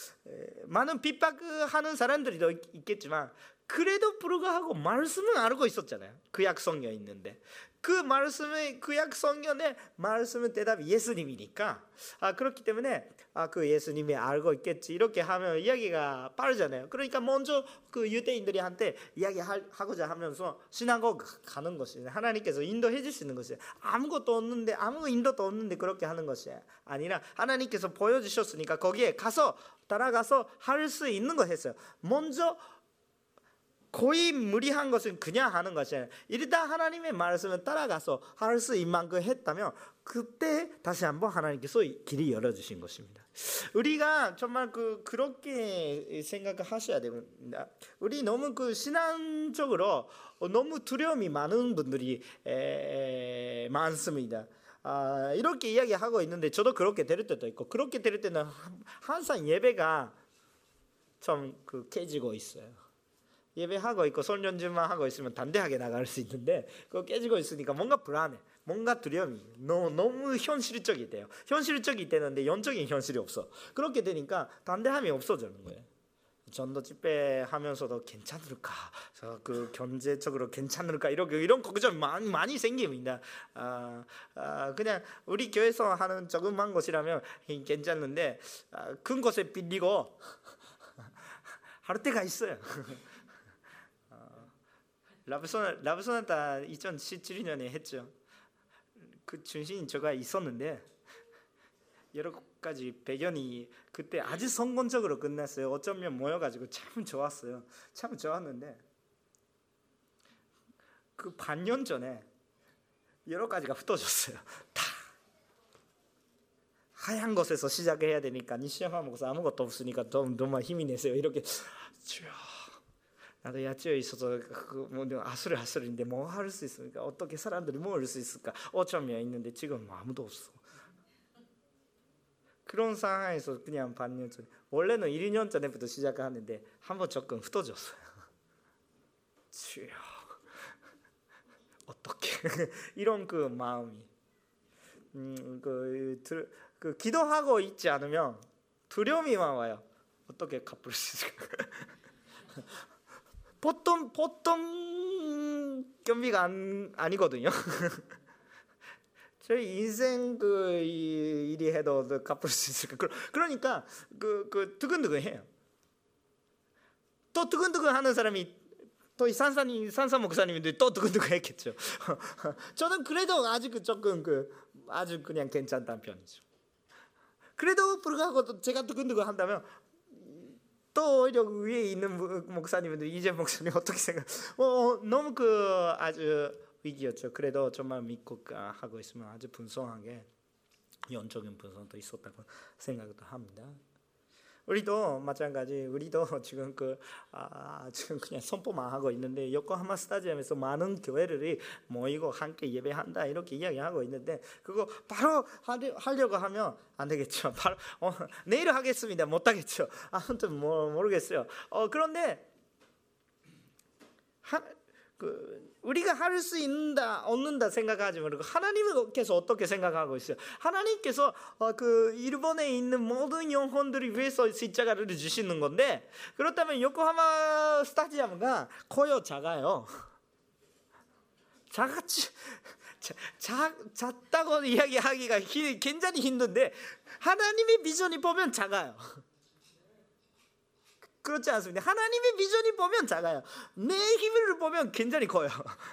많은 핍박하는 사람들도 있겠지만 그래도 불구하고 말씀은 알고 있었잖아요. 구약 성경에 있는데 그 말씀의 구약 성경의 말씀의 대답이 예수님이니까 아, 그렇기 때문에 아, 그 예수님이 알고 있겠지 이렇게 하면 이야기가 빠르잖아요. 그러니까 먼저 그 유대인들이한테 이야기하고자 하면서 시나고그 가는 것이 하나님께서 인도해 주시는 것이 아무것도 없는데 아무 인도도 없는데 그렇게 하는 것이 아니라 하나님께서 보여주셨으니까 거기에 가서 따라가서 할 수 있는 거 했어요. 먼저 거의 무리한 것은 그냥 하는 것이 아니라 일단 하나님의 말씀을 따라가서 할 수 있는 만큼 했다면 그때 다시 한번 하나님께서 길이 열어주신 것입니다. 우리가 정말 그 그렇게 생각하셔야 됩니다. 우리 너무 그 신앙적으로 너무 두려움이 많은 분들이 에, 많습니다. 아, 이렇게 이야기하고 있는데 저도 그렇게 될 때도 있고 그렇게 될 때는 항상 예배가 좀 그 깨지고 있어요. 예배하고 있고 손연주만 하고 있으면 담대하게 나갈 수 있는데 그거 깨지고 있으니까 뭔가 불안해. 뭔가 두려움이 너무, 너무 현실적이 돼요. 현실적이 되는데 영적인 현실이 없어. 그렇게 되니까 담대함이 없어지는 거예요. 전도 집회하면서도 괜찮을까? 그 경제적으로 괜찮을까? 이런 이런 걱정이 많이 많이 생깁니다. 아, 아, 그냥 우리 교회에서 하는 조그만 것이라면 괜찮은데 아, 큰 것에 빌리고 할 때가 있어요. 라브소나, 라브소나타 이천십칠 년에 했죠. 그 중심인 저가 있었는데 여러 가지 배경이 그때 아주 성공적으로 끝났어요. 어쩌면 모여가지고 참 좋았어요. 참 좋았는데 그 반년 전에 여러 가지가 흩어졌어요. 다 하얀 것에서 시작해야 되니까 시험하 먹어서 아무것도 없으니까 너무 너무 힘이 내세요. 이렇게 주여 나도 야채에 있어서 뭐 아수르 아수르인데 뭐 할 수 있습니까? 어떻게 사람들이 모을 수 있을까? 어쩌면 있는데 지금 아무도 없어. 그런 상황에서 그냥 반년 전에 원래는 일 년 전에부터 시작하는데 한번 조금 흩어졌어요. 주여 어떻게 이런 그 마음이 음, 그, 그 기도하고 있지 않으면 두려움이만 와요. 어떻게 갚을 수 있을까? 보통 보통 경비가 안, 아니거든요. 저희 인생 그 일이 해도 갚을 수 있을까? 그러니까 그, 그 두근두근해요. 또 두근두근하는 사람이 또 산사님 산사 목사님인데 또 두근두근했겠죠. 저는 그래도 아직 조금 그 아주 그냥 괜찮다는 편이죠. 그래도 불구하고 제가 두근두근한다면. 또 오히려 위에 있는 목사님들 이재 목사님 어떻게 생각? 어, 너무 그 아주 위기였죠. 그래도 정말 믿고 하고 있으면 아주 분성하게 영적인 분성도 있었다고 생각도 합니다. 우리도 마찬가지. 우리도 지금 그 아, 지금 그냥 선포만 하고 있는데 요코하마 스타디움에서 많은 교회들이 모이고 함께 예배한다 이렇게 이야기하고 있는데 그거 바로 하려고 하면 안 되겠죠. 바로 어, 내일 하겠습니다. 못 하겠죠. 아무튼 뭐 모르겠어요. 어, 그런데 하, 그 우리가 할 수 있는다 없는다 생각하지 말고 하나님께서 어떻게 생각하고 있어요? 하나님께서 어, 그 일본에 있는 모든 영혼들을 위해서 십자가를 주시는 건데, 그렇다면 요코하마 스타디움가 커요, 작아요? 작았지. 자, 자, 작다고 이야기하기가 히, 굉장히 힘든데 하나님의 비전이 보면 작아요. 그렇지 않습니까? 하나님의 비전이 보면 작아요. 내 힘을 보면 굉장히 커요.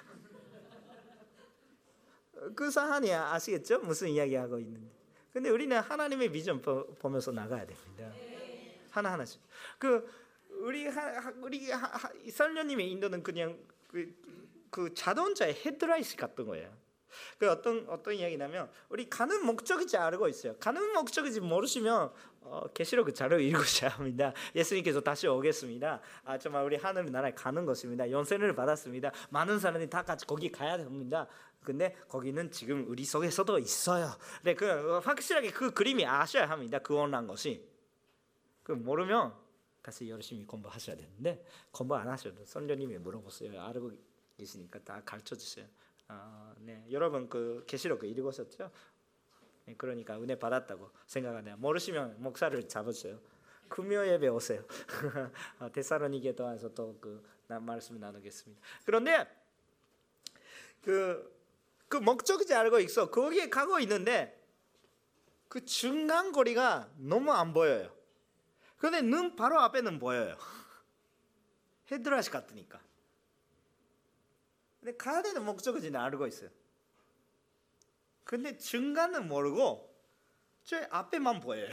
그 사안이 아시겠죠? 무슨 이야기하고 있는데. 근데 우리는 하나님의 비전 보면서 나가야 됩니다. 하나하나씩. 그 우리 하, 우리 설녀님의 인도는 그냥 그, 그 자동차의 헤드라이트 같은 거예요. 그 어떤 어떤 이야기냐면, 우리 가는 목적이지 알고 있어요. 가는 목적이지 모르시면 어, 계시록 자료 읽으셔야 합니다. 예수님께서 다시 오겠습니다. 아, 정말 우리 하늘 나라에 가는 것입니다. 연세를 받았습니다. 많은 사람들이 다 같이 거기 가야 됩니다. 근데 거기는 지금 우리 속에서도 있어요. 네, 그 확실하게 그 그림이 아셔야 합니다. 구원한 것이. 그 모르면 다시 열심히 공부하셔야 되는데, 공부 안 하셔도 선녀님이 물어보세요. 알고 계시니까 다 가르쳐 주세요. 아, 네, 여러분 그 계시록 읽으셨죠? 네, 그러니까 은혜 받았다고 생각하네요. 모르시면 목사를 잡으세요. 금요 예배 오세요. 데살로니게도에서 또 그 말씀을 나누겠습니다. 그런데 그, 그 목적지 알고 있어. 거기에 가고 있는데 그 중간 거리가 너무 안 보여요. 그런데 눈 바로 앞에는 보여요. 헤드라이트 같으니까. 근데 가야 되는 목적지는 알고 있어요. 근데 중간은 모르고 저 앞에만 보여요.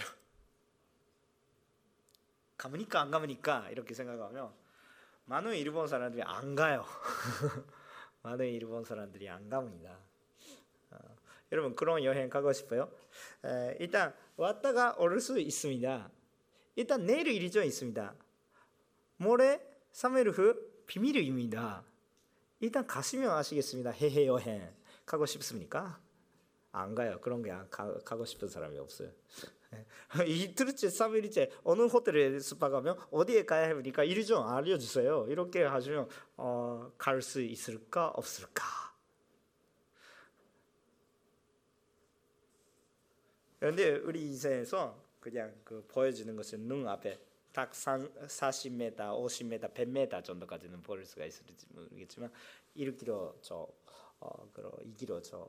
가보니까 안 가보니까 이렇게 생각하면 많은 일본 사람들이 안 가요. 많은 일본 사람들이 안 갑니다. 어, 여러분 그런 여행 가고 싶어요? 에, 일단 왔다가 올 수 있습니다. 일단 내일 일정이 있습니다. 모레 삼 일 후 비밀입니다. 일단 가시면 아시겠습니다. 해외 여행 가고 싶습니까? 안 가요. 그런 게 안 가, 가고 싶은 사람이 없어요. 이틀째 삼 일째 어느 호텔에 숙박하면 어디에 가야 합니까? 일정 알려주세요. 이렇게 하시면 어, 갈 수 있을까 없을까? 그런데 우리 이세에서 그냥 그 보여주는 것은 눈 앞에 딱 사십 미터, 오십 미터, 백 미터 정도까지는 볼 수가 있을지 모르겠지만 일 킬로미터 저 어, 그럼 이 킬로미터 저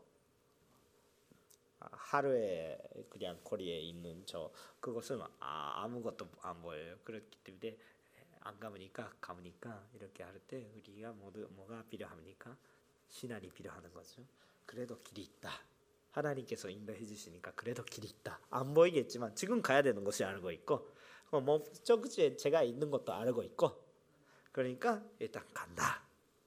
하루에 그냥 거리에 있는 저 그것은 아, 아무것도 안 보여요. 그렇기 때문에 안 가보니까 가보니까 이렇게 할 때 우리가 모두 뭐가 필요합니까? 신앙이 필요하는 거죠. 그래도 길이 있다. 하나님께서 인도해 주시니까 그래도 길이 있다. 안 보이겠지만 지금 가야 되는 것이 알고 있고, 목적지에 제가 있는 것도 알고 있고, 그러니까 일단 간다.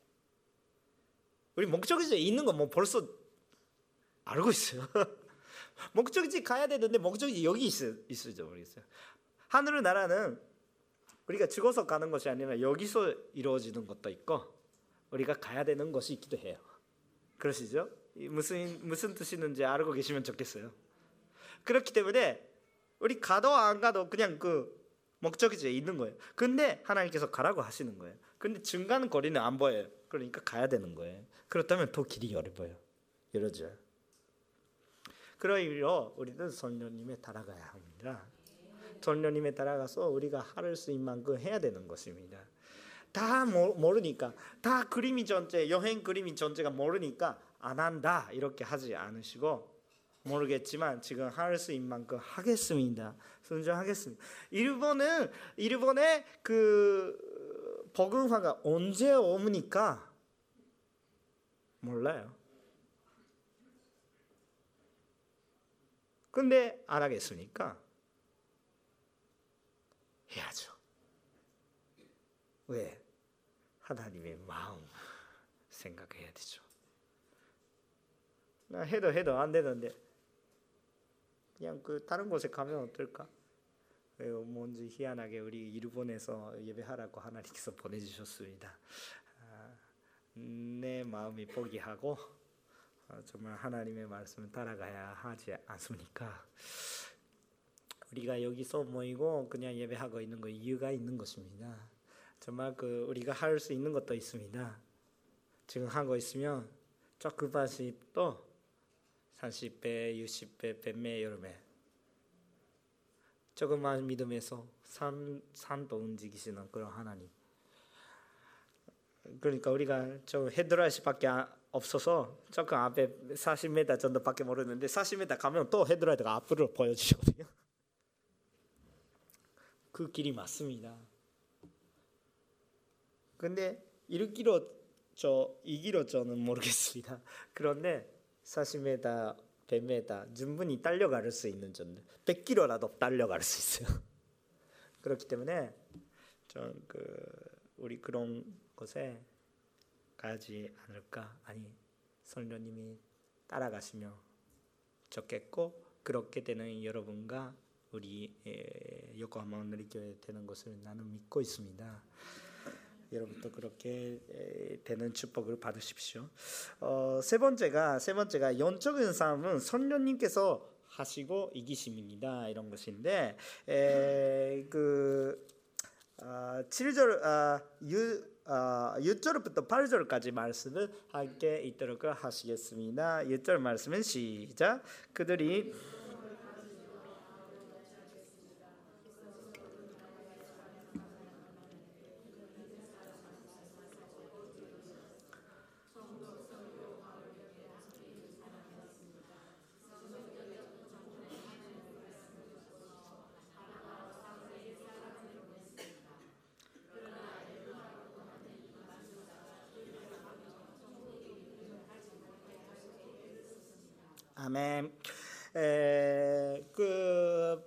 우리 목적지에 있는 거 뭐 벌써 알고 있어요. 목적지 가야 되는데 목적지 여기 있어, 있을지 모르겠어요. 하늘 나라는 우리가 죽어서 가는 것이 아니라 여기서 이루어지는 것도 있고 우리가 가야 되는 것이 있기도 해요. 그러시죠? 무슨 무슨 뜻이는지 알고 계시면 좋겠어요. 그렇기 때문에 우리 가도 안 가도 그냥 그 목적지에 있는 거예요. 근데 하나님께서 가라고 하시는 거예요. 근데 중간 거리는 안 보여요. 그러니까 가야 되는 거예요. 그렇다면 더 길이 열어봐요. 열어져요. 그러므로 우리는 성령님에 따라가야 합니다. 성령님에 따라가서 우리가 할 수 있는 만큼 해야 되는 것입니다. 다 모르니까, 다 그림이 전체, 여행 그림이 전체가 모르니까 안 한다 이렇게 하지 않으시고, 모르겠지만 지금 할 수 있는 만큼 하겠습니다. 순종하겠습니다. 일본은 일본의 그 복음화가 언제 오니까 몰라요. 근데 안 하겠습니까? 해야죠. 왜? 하나님의 마음 생각해야 되죠. 나 해도 해도 안 되는데 그냥 그 다른 곳에 가면 어떨까? 뭔지 희한하게 우리 일본에서 예배하라고 하나님께서 보내주셨습니다. 아, 내 마음이 포기하고 정말 하나님의 말씀을 따라가야 하지 않습니까? 우리가 여기서 모이고 그냥 예배하고 있는 거 이유가 있는 것입니다. 정말 그 우리가 할 수 있는 것도 있습니다. 지금 하고 있으면 조금씩 또 삼십 배, 육십 배, 백 배, 여름에 조금만 믿음에서 산, 산도 움직이시는 그런 하나님. 그러니까 우리가 좀 헤드라이트밖에 없어서 조금 앞에 사십 미터 정도밖에 모르는데 사십 미터 가면 또 헤드라이트가 앞으로 보여주시거든요. 그 길이 맞습니다. 근데 일 킬로미터 이 킬로미터 저는 모르겠습니다. 그런데 사십 미터, 백 미터 충분히 달려갈 수 있는 정도, 백 킬로미터라도 달려갈 수 있어요. 그렇기 때문에 좀 그 우리 그런 곳에 가지 않을까. 아니 성령님이 따라가시면 좋겠고, 그렇게 되는 여러분과 우리 요코하마 온누리교회 되는 것을 나는 믿고 있습니다. 여러분도 그렇게 되는 축복을 받으십시오. 어, 세 번째가 세 번째가 영적인 싸움은 성령님께서 하시고 이기심입니다. 이런 것인데 에, 그 어, 칠 절 아, 유 어, 육 절부터 팔 절까지 말씀을 함께 있도록 하시겠습니다. 육 절 말씀은 시작. 그들이 아멘. 에, 그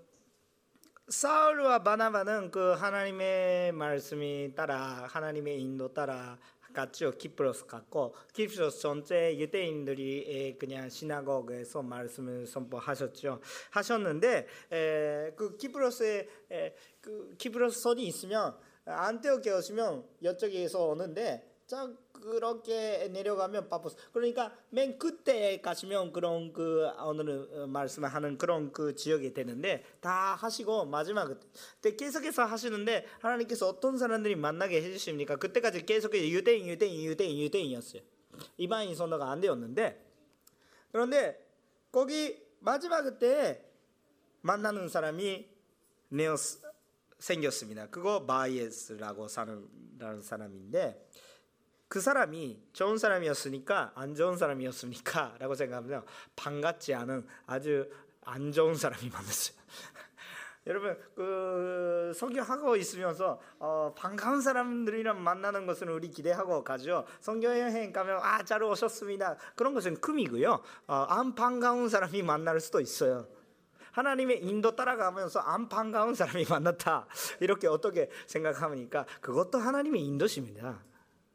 사울과 바나바는 그 하나님의 말씀이 따라 하나님의 인도 따라 갔죠. 키프로스 갔고, 키프로스 전체 유대인들이 그냥 시나고그에서 말씀을 선포하셨죠. 하셨는데 에, 그 키프로스에 에, 그 키프로스 선이 있으면 안티오키에 오시면 이쪽에서 오는데 자 그렇게 내려가면 바쁘스. 그러니까 맨 끝에 가시면 그런 그 오늘 말씀하는 그런 그 지역이 되는데 다 하시고 마지막 그때 계속해서 하시는데 하나님께서 어떤 사람들이 만나게 해주십니까? 그때까지 계속해서 유대인 유대인 유대인 유대인이었어요. 이방인 선도가 안 되었는데, 그런데 거기 마지막 그때 만나는 사람이 네오스 생겼습니다. 그거 바이에스라고 사는 사람인데, 그 사람이 좋은 사람이었으니까 안 좋은 사람이었습니까? 라고 생각하면 반갑지 않은 아주 안 좋은 사람이 만났어요. 여러분 그 성경하고 있으면서 어, 반가운 사람들이랑 만나는 것은 우리 기대하고 가죠. 성경 여행 가면 아 잘 오셨습니다. 그런 것은 금이고요. 어, 안 반가운 사람이 만날 수도 있어요. 하나님의 인도 따라가면서 안 반가운 사람이 만났다. 이렇게 어떻게 생각합니까? 그것도 하나님의 인도십니다.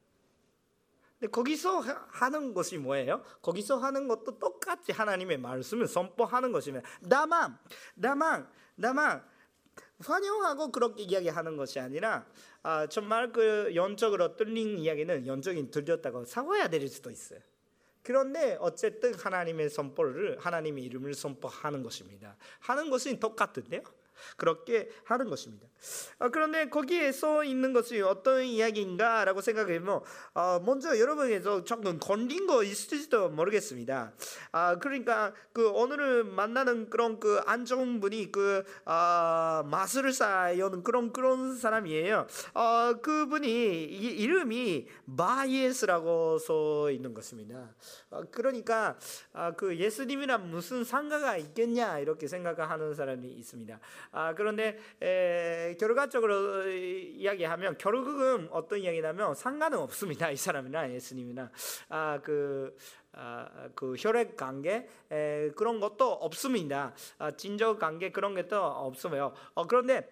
근데 거기서 하는 것이 뭐예요? 거기서 하는 것도 똑같이 하나님의 말씀을 선포하는 것입니다. 다만, 다만, 다만 환영하고 그렇게 이야기하는 것이 아니라 아, 정말 그 영적으로 뚫린 이야기는 영적인 들렸다고 사과해야 될 수도 있어요. 그런데 어쨌든 하나님의 선포를 하나님의 이름을 선포하는 것입니다. 하는 것은 똑같은데요. 그렇게 하는 것입니다. 아, 그런데 거기에 써 있는 것이 어떤 이야기인가라고 생각하면 아, 먼저 여러분에서 조금 걸린 거 있을지도 모르겠습니다. 아, 그러니까 그 오늘 만나는 그런 그 안 좋은 분이 그 아, 마술사여는 그런 그런 사람이에요. 아, 그분이 이, 이름이 바이에스라고 써 있는 것입니다. 아, 그러니까 아, 그 예수님이랑 무슨 상관가 있겠냐 이렇게 생각하는 사람이 있습니다. 아, 그런데 에, 결과적으로 이야기하면 결국은 어떤 이야기냐면 상관은 없습니다. 이 사람이나 예수님이나 아, 그, 아, 그 혈액 관계 에, 그런 것도 없습니다. 아, 진적 관계 그런 것도 없어요. 어, 그런데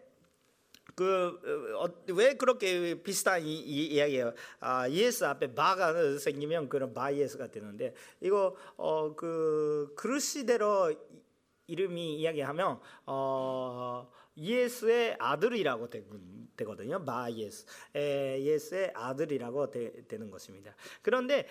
그 왜 그렇게 비슷한 이, 이 이야기예요. 아, 예수 앞에 바가 생기면 그런 바이에스가 되는데 이거 어, 그 그릇시대로 이름이 이야기하면 어, 예수의 아들이라고 되거든요. 바 예수, 에, 예수의 아들이라고 되, 되는 것입니다. 그런데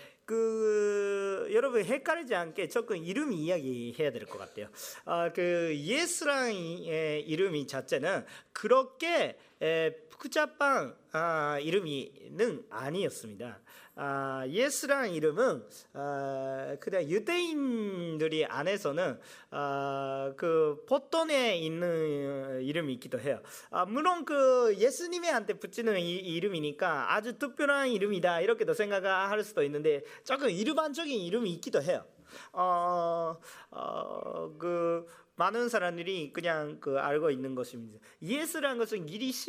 그 여러분 헷갈리지 않게 조금 이름이 이야기해야 될 것 같아요. 아, 그 예수라는 이름이 자체는 그렇게 에, 복잡한 아, 이름이는 아니었습니다. 아, 예수라는 이름은 아, 그냥 유대인들이 안에서는 아, 그 보통에 있는 이름이 있기도 해요. 아, 물론 그 예수님한테 붙이는 이, 이름이니까 아주 특별한 이름이다 이렇게도 생각할 수도 있는데 조금 일반적인 이름이 있기도 해요. 어, 어, 그 많은 사람들이 그냥 그 알고 있는 것입니다. 예수라는 것은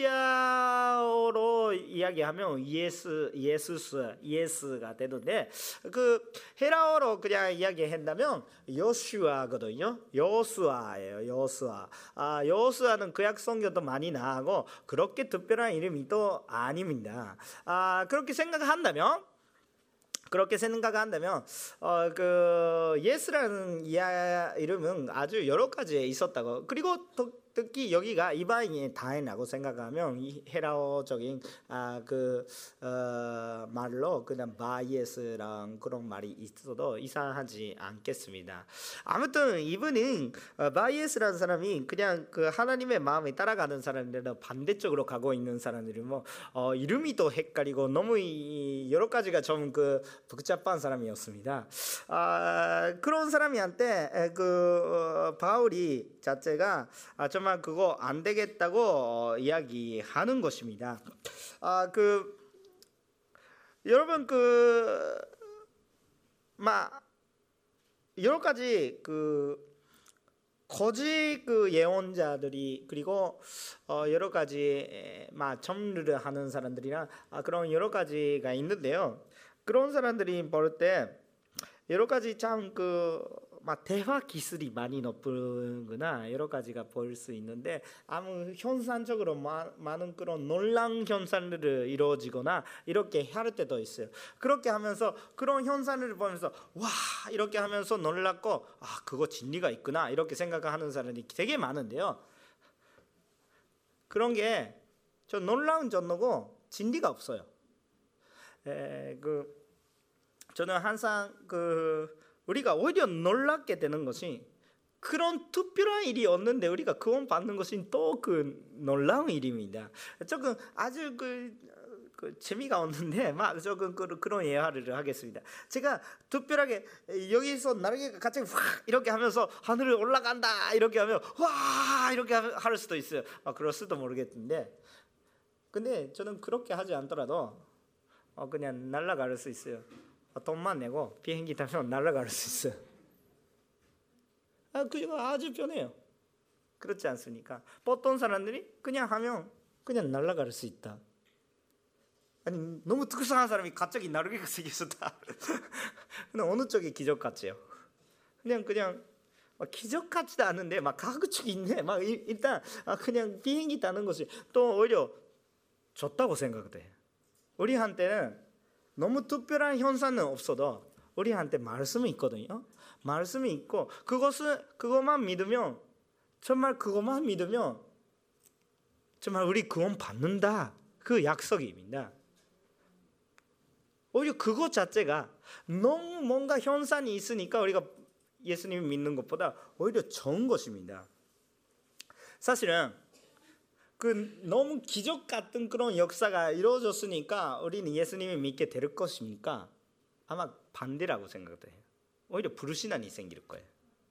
기리시아어로 이야기하면 예수, 예수스, 예수가 되는데 그 헤라어로 그냥 이야기한다면 요슈아거든요. 요수아예요. 요수아. 아, 요수아는 구약 성경도 많이 나오고 그렇게 특별한 이름이 또 아닙니다. 아, 그렇게 생각한다면. 그렇게 생각한다면 어, 그 예수라는 이름은 아주 여러 가지 있었다고. 그리고 특히 여기가 이방인의 다인이라고 생각하면 이 헤라어적인 아, 그 어, 말로 그냥 바예스랑 그런 말이 있어도 이상하지 않겠습니다. 아무튼 이분은 어, 바예스라는 사람이 그냥 그 하나님의 마음에 따라가는 사람들은 반대쪽으로 가고 있는 사람들이 뭐 어, 이름이 또 헷갈리고 너무 이, 여러 가지가 좀 그 복잡한 사람이었습니다. 아, 그런 사람이한테 그 어, 바울이 자체가 아, 정말 그거 안 되겠다고 어, 이야기하는 것입니다. 아, 그 여러분 그 막 여러 가지 그 거짓 그 예언자들이 그리고 어, 여러 가지 막 점르를 하는 사람들이나 아, 그런 여러 가지가 있는데요. 그런 사람들이 볼 때 여러 가지 참 그 막 대화 기술이 많이 높은구나 여러 가지가 보일 수 있는데 아무 현상적으로 마, 많은 그런 논란 현상들을 이루어지거나 이렇게 할 때도 있어요. 그렇게 하면서 그런 현상을 보면서 와 이렇게 하면서 놀랐고 아 그거 진리가 있구나 이렇게 생각하는 사람이 되게 많은데요. 그런 게 저 놀라운 전노고 진리가 없어요. 에, 그 저는 항상 그 우리가 오히려 놀랍게 되는 것이 그런 특별한 일이 없는데 우리가 구원 받는 것이 또 그 놀라운 일입니다. 조금 아주 그, 그 재미가 없는데 막 조금 그, 그런 예화를 하겠습니다. 제가 특별하게 여기서 날개가 갑자기 확 이렇게 하면서 하늘을 올라간다 이렇게 하면 와 이렇게 할 수도 있어요. 아, 그럴 수도 모르겠는데 근데 저는 그렇게 하지 않더라도 어, 그냥 날아갈 수 있어요. 돈만 내고 비행기 타면 날아갈 수 있어요. 아, 그거 아주 편해요. 그렇지 않습니까? 보통 사람들이 그냥 하면 그냥 날아갈 수 있다. 아니 너무 특수한 사람이 갑자기 날개가 생겼다. 근데 어느 쪽이 기적 같지요? 그냥 그냥 막 기적 같지도 않은데 막 가급적 있네. 막 일단 그냥 비행기 타는 것이 또 오히려 좋다고 생각돼. 우리한테는 너무 특별한 현상은 없어도 우리한테 말씀이 있거든요. 말씀이 있고 그것을 그것만 믿으면 정말 그것만 믿으면 정말 우리 구원 받는다 그 약속입니다. 오히려 그것 자체가 너무 뭔가 현상이 있으니까 우리가 예수님을 믿는 것보다 오히려 좋은 것입니다. 사실은 그 너무 기적 같은 그런 역사가 이루어졌으니까 우리는 예수님을 믿게 될 것입니까? 아마 반대라고 생각해요. 오히려 불신앙이 생길 거예요.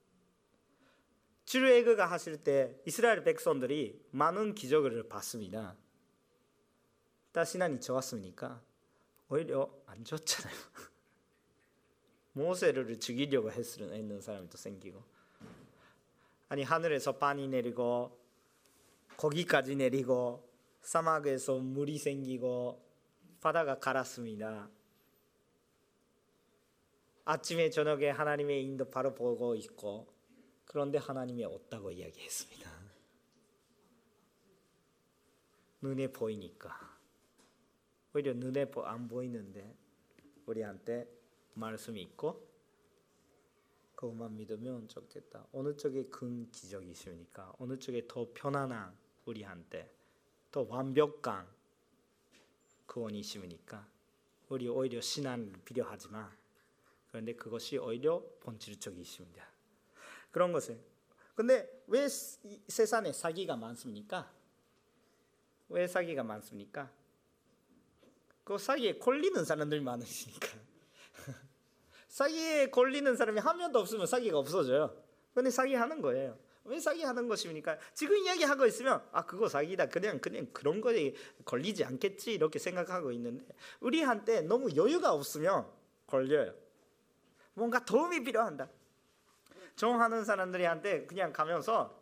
출애굽가 하실 때 이스라엘 백성들이 많은 기적을 봤습니다. 다 신앙이 좋았습니까? 오히려 안 좋잖아요. 모세를 죽이려고 했는 사람도 생기고 아니 하늘에서 빵이 내리고 거기까지 내리고 사막에서 물이 생기고 바다가 갈았습니다. 아침에 저녁에 하나님의 인도 바로 보고 있고 그런데 하나님이 없다고 이야기했습니다. 눈에 보이니까 오히려 눈에 안 보이는데 우리한테 말씀이 있고 그것만 믿으면 좋겠다. 어느 쪽에 큰 기적이 있습니까? 어느 쪽에 더 편안한 우리한테 또 완벽한 구원이 있으니까 우리 오히려 신앙을 필요하지만 그런데 그것이 오히려 본질적이 있습니다. 그런 것을. 근데 왜 세상에 사기가 많습니까? 왜 사기가 많습니까? 그 사기에 걸리는 사람들이 많으시니까. 사기에 걸리는 사람이 한 명도 없으면 사기가 없어져요. 근데 사기하는 거예요. 왜 사기하는 것입니까? 지금 이야기하고 있으면 아 그거 사기다. 그냥 그냥 그런 거에 걸리지 않겠지 이렇게 생각하고 있는데 우리한테 너무 여유가 없으면 걸려요. 뭔가 도움이 필요한다. 정하는 사람들한테 그냥 가면서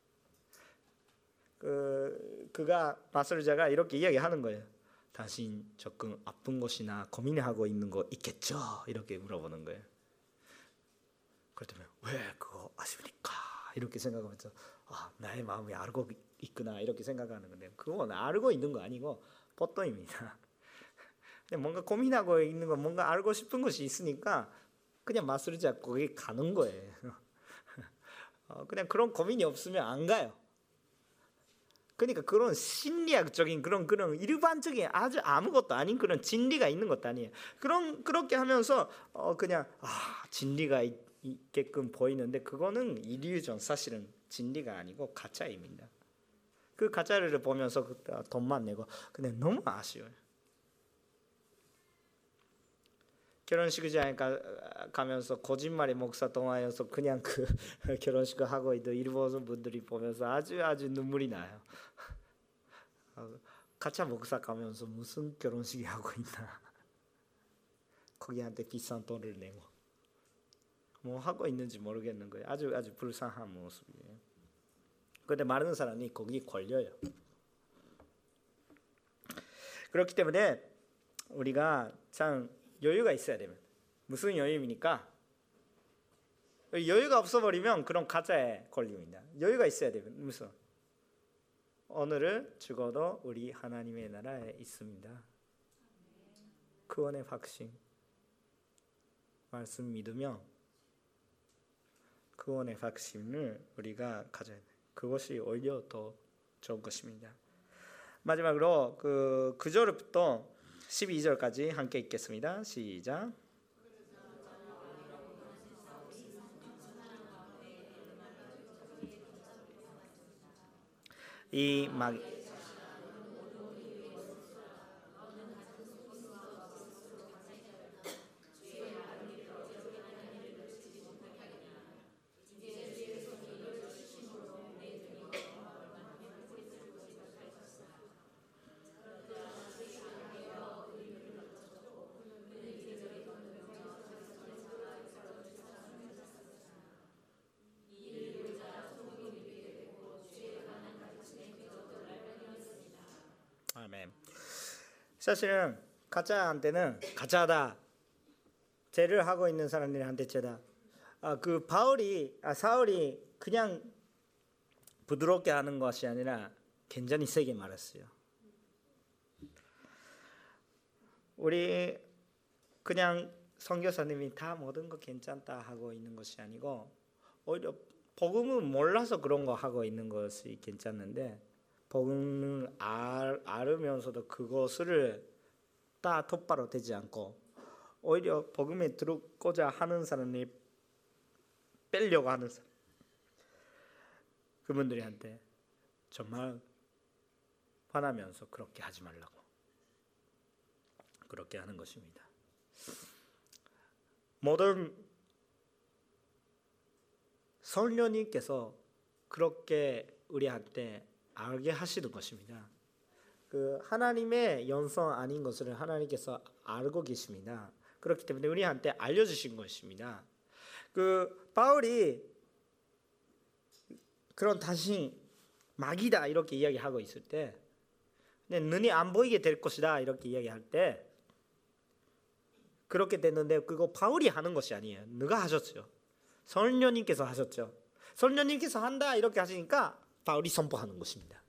그 그가 마술자가 이렇게 이야기하는 거예요. 당신 조금 아픈 것이나 고민하고 있는 거 있겠죠? 이렇게 물어보는 거예요. 그렇다면 왜 그거 아십니까? 이렇게 생각하면서 아 나의 마음이 알고 있구나 이렇게 생각하는 건데 그건 알고 있는 거 아니고 보통입니다. 뭔가 고민하고 있는 거 뭔가 알고 싶은 것이 있으니까 그냥 마술자 거기 가는 거예요. 그냥 그런 고민이 없으면 안 가요. 그러니까 그런 심리학적인 그런 그런 일반적인 아주 아무것도 아닌 그런 진리가 있는 것도 아니에요. 그런 그렇게 하면서 어 그냥 아 진리가 있, 있게끔 보이는데 그거는 일루전 사실은 진리가 아니고 가짜입니다. 그 가짜를 보면서 돈만 내고 근데 너무 아쉬워요. 결혼식장에 가면서 거짓말의 목사 동화여서 그냥 그 결혼식을 하고 있는 일본 분들이 보면서 아주 아주 눈물이 나요. 가짜 목사 가면서 무슨 결혼식이 하고 있나. 거기한테 비싼 돈을 내고 뭐 하고 있는지 모르겠는 거예요. 아주 아주 불쌍한 모습이에요. 그런데 많은 사람이 거기 걸려요. 그렇기 때문에 우리가 참 여유가 있어야 됩니다. 무슨 여유입니까? 여유가 없어버리면 그런 가짜에 걸립니다. 여유가 있어야 됩니다. 무슨? 오늘은 죽어도 우리 하나님의 나라에 있습니다. 구원의 확신. 말씀 믿으며 구원의 확신을 우리가 가져야 돼요. 그것이 오히려 더 좋은 것입니다. 마지막으로 그 구 절부터 십이 절까지 함께 읽겠습니다. 시작. 이 막 아멘. 사실은 가짜한테는 가짜다. 죄를 하고 있는 사람들한테 죄다. 아, 그 바울이 아, 사울이 그냥 부드럽게 하는 것이 아니라 굉장히 세게 말했어요. 우리 그냥 선교사님이 다 모든 거 괜찮다 하고 있는 것이 아니고 오히려 복음을 몰라서 그런 거 하고 있는 것이 괜찮은데 복음을 알, 알으면서도 그것을 다 똑바로 되지 않고 오히려 복음에 들어오고자 하는 사람이 빼려고 하는 사람 그분들한테 정말 화나면서 그렇게 하지 말라고 그렇게 하는 것입니다. 모든 성령님께서 그렇게 우리한테 알게 하시는 것입니다. 그 하나님의 영성 아닌 것을 하나님께서 알고 계십니다. 그렇기 때문에 우리한테 알려주신 것입니다. 그 바울이 그런 당신 마귀다 이렇게 이야기하고 있을 때, 눈이 안 보이게 될 것이다 이렇게 이야기할 때 그렇게 됐는데 그거 바울이 하는 것이 아니에요. 누가 하셨죠? 성령님께서 하셨죠. 성령님께서 한다 이렇게 하시니까 바울이 선포하는 것입니다.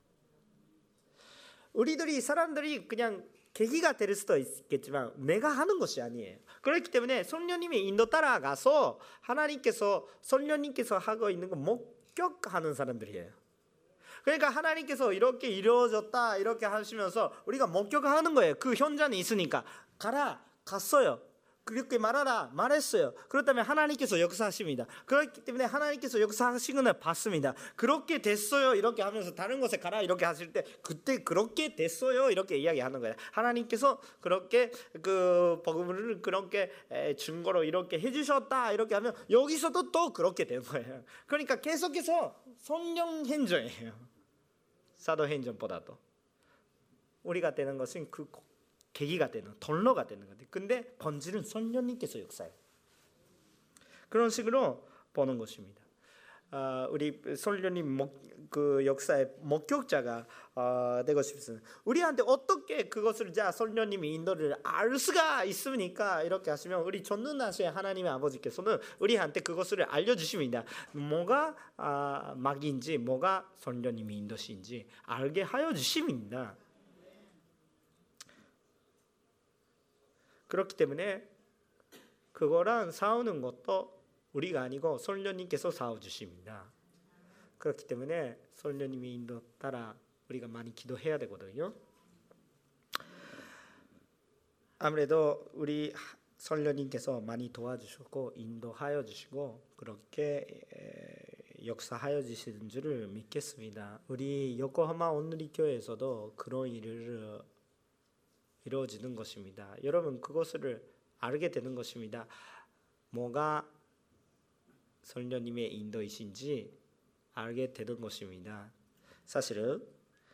우리들이 사람들이 그냥 계기가 될 수도 있겠지만 내가 하는 것이 아니에요. 그렇기 때문에 성령님의 인도 따라가서 하나님께서 성령님께서 하고 있는 거 목격하는 사람들이에요. 그러니까 하나님께서 이렇게 이루어졌다 이렇게 하시면서 우리가 목격하는 거예요. 그 현장에 있으니까 가라 갔어요. 그렇게 말하라 말했어요. 그렇다면 하나님께서 역사하십니다. 그렇기 때문에 하나님께서 역사하시는 걸 봤습니다. 그렇게 됐어요 이렇게 하면서 다른 곳에 가라 이렇게 하실 때 그때 그렇게 됐어요 이렇게 이야기하는 거예요. 하나님께서 그렇게 그 복음을 그렇게 증거로 이렇게 해주셨다 이렇게 하면 여기서도 또 그렇게 된 거예요. 그러니까 계속해서 성령 행전이에요. 사도행전보다도 우리가 되는 것은 그 계기가 되는 통로가 되는 건데, 근데 본질은 성령님께서 역사해요. 그런 식으로 보는 것입니다. 어, 우리 성령님 목, 그 역사의 목격자가 어, 되고 싶습니다. 우리한테 어떻게 그것을 자 성령님이 인도를 알 수가 있습니까? 이렇게 하시면 우리 전능하신 하나님의 아버지께서는 우리한테 그것을 알려주십니다. 뭐가 아, 마귀인지 뭐가 성령님이 인도신지 알게 하여 주십니다. 그렇기 때문에 그거랑 싸우는 것도 우리가 아니고 성령님께서 싸워주십니다. 그렇기 때문에 성령님의 인도 따라 우리가 많이 기도해야 되거든요. 아무래도 우리 성령님께서 많이 도와주시고 인도하여 주시고 그렇게 역사하여 주시는 줄을 믿겠습니다. 우리 요코하마 온누리 교회에서도 그런 일을 이루어지는 것입니다. 여러분 그것을 알게 되는 것입니다. 뭐가 성령님의 인도이신지 알게 되는 것입니다. 사실은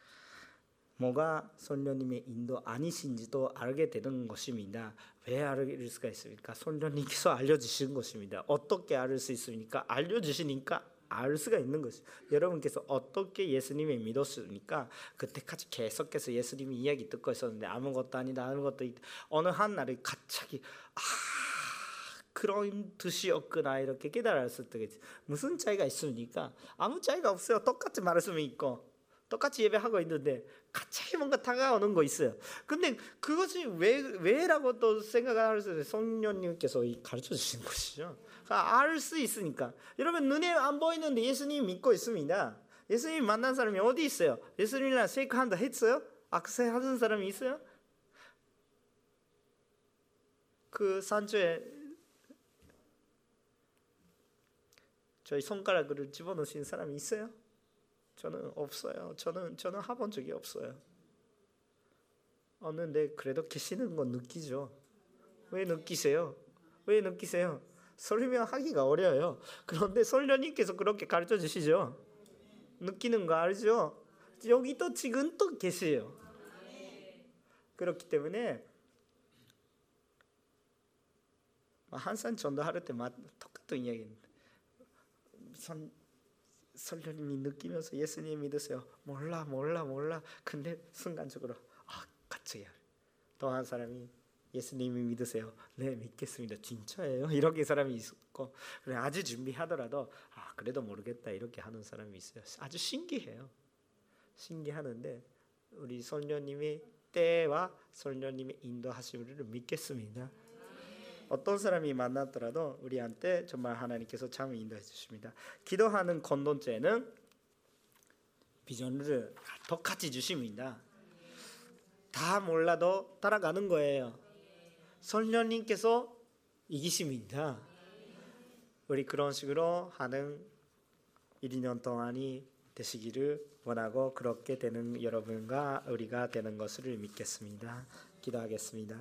뭐가 성령님의 인도 아니신지도 알게 되는 것입니다. 왜 알 수가 있습니까? 성령님께서 알려주시는 것입니다. 어떻게 알 수 있습니까? 알려주시니까 알 수가 있는 것이. 여러분께서 어떻게 예수님을 믿었습니까? 그때까지 계속해서 예수님이 이야기 듣고 있었는데 아무것도 아니다 아무것도 있다. 어느 한 날에 갑자기 아 그런 뜻이었구나 이렇게 깨달았을 때 무슨 차이가 있습니까? 아무 차이가 없어요. 똑같이 말씀이 있고 똑같이 예배하고 있는데 갑자기 뭔가 다가오는 거 있어요. 근데 그것이 왜 왜라고 또 생각을 할 수 있어요. 성령님께서 가르쳐 주신 것이죠. 알 수 있으니까. 여러분 눈에 안 보이는데 예수님 믿고 있습니다. 예수님 만난 사람이 어디 있어요? 예수님이랑 쉐이크핸드 했어요? 악수 하는 사람이 있어요? 그 산초에 저희 손가락을 집어넣으신 사람이 있어요? 저는 없어요. 저는 저는 해본 적이 없어요. 없는데 그래도 계시는 건 느끼죠. 왜 느끼세요? 왜 느끼세요? 설명하기가 어려워요. 그런데 성령님께서 그렇게 가르쳐 주시죠. 느끼는 거 알죠? 여기 또 지금 또 계세요. 그렇기 때문에 항상 전도할 때 똑같은 이야기입니다. 성령님이 느끼면서 예수님 믿으세요. 몰라 몰라 몰라. 근데 순간적으로 아 같이 해요. 또 한 사람이 예수님이 믿으세요. 네 믿겠습니다. 진짜예요. 이렇게 사람이 있고 아주 준비하더라도 아 그래도 모르겠다 이렇게 하는 사람이 있어요. 아주 신기해요. 신기하는데 우리 성령님의 때와 성령님의 인도하심을 믿겠습니다. 어떤 사람이 만났더라도 우리한테 정말 하나님께서 참 인도해 주십니다. 기도하는 공동체는 비전을 똑같이 주십니다. 다 몰라도 따라가는 거예요. 성령님께서 이기십니다. 우리 그런 식으로 하는 일, 이 년 동안이 되시기를 원하고 그렇게 되는 여러분과 우리가 되는 것을 믿겠습니다. 기도하겠습니다.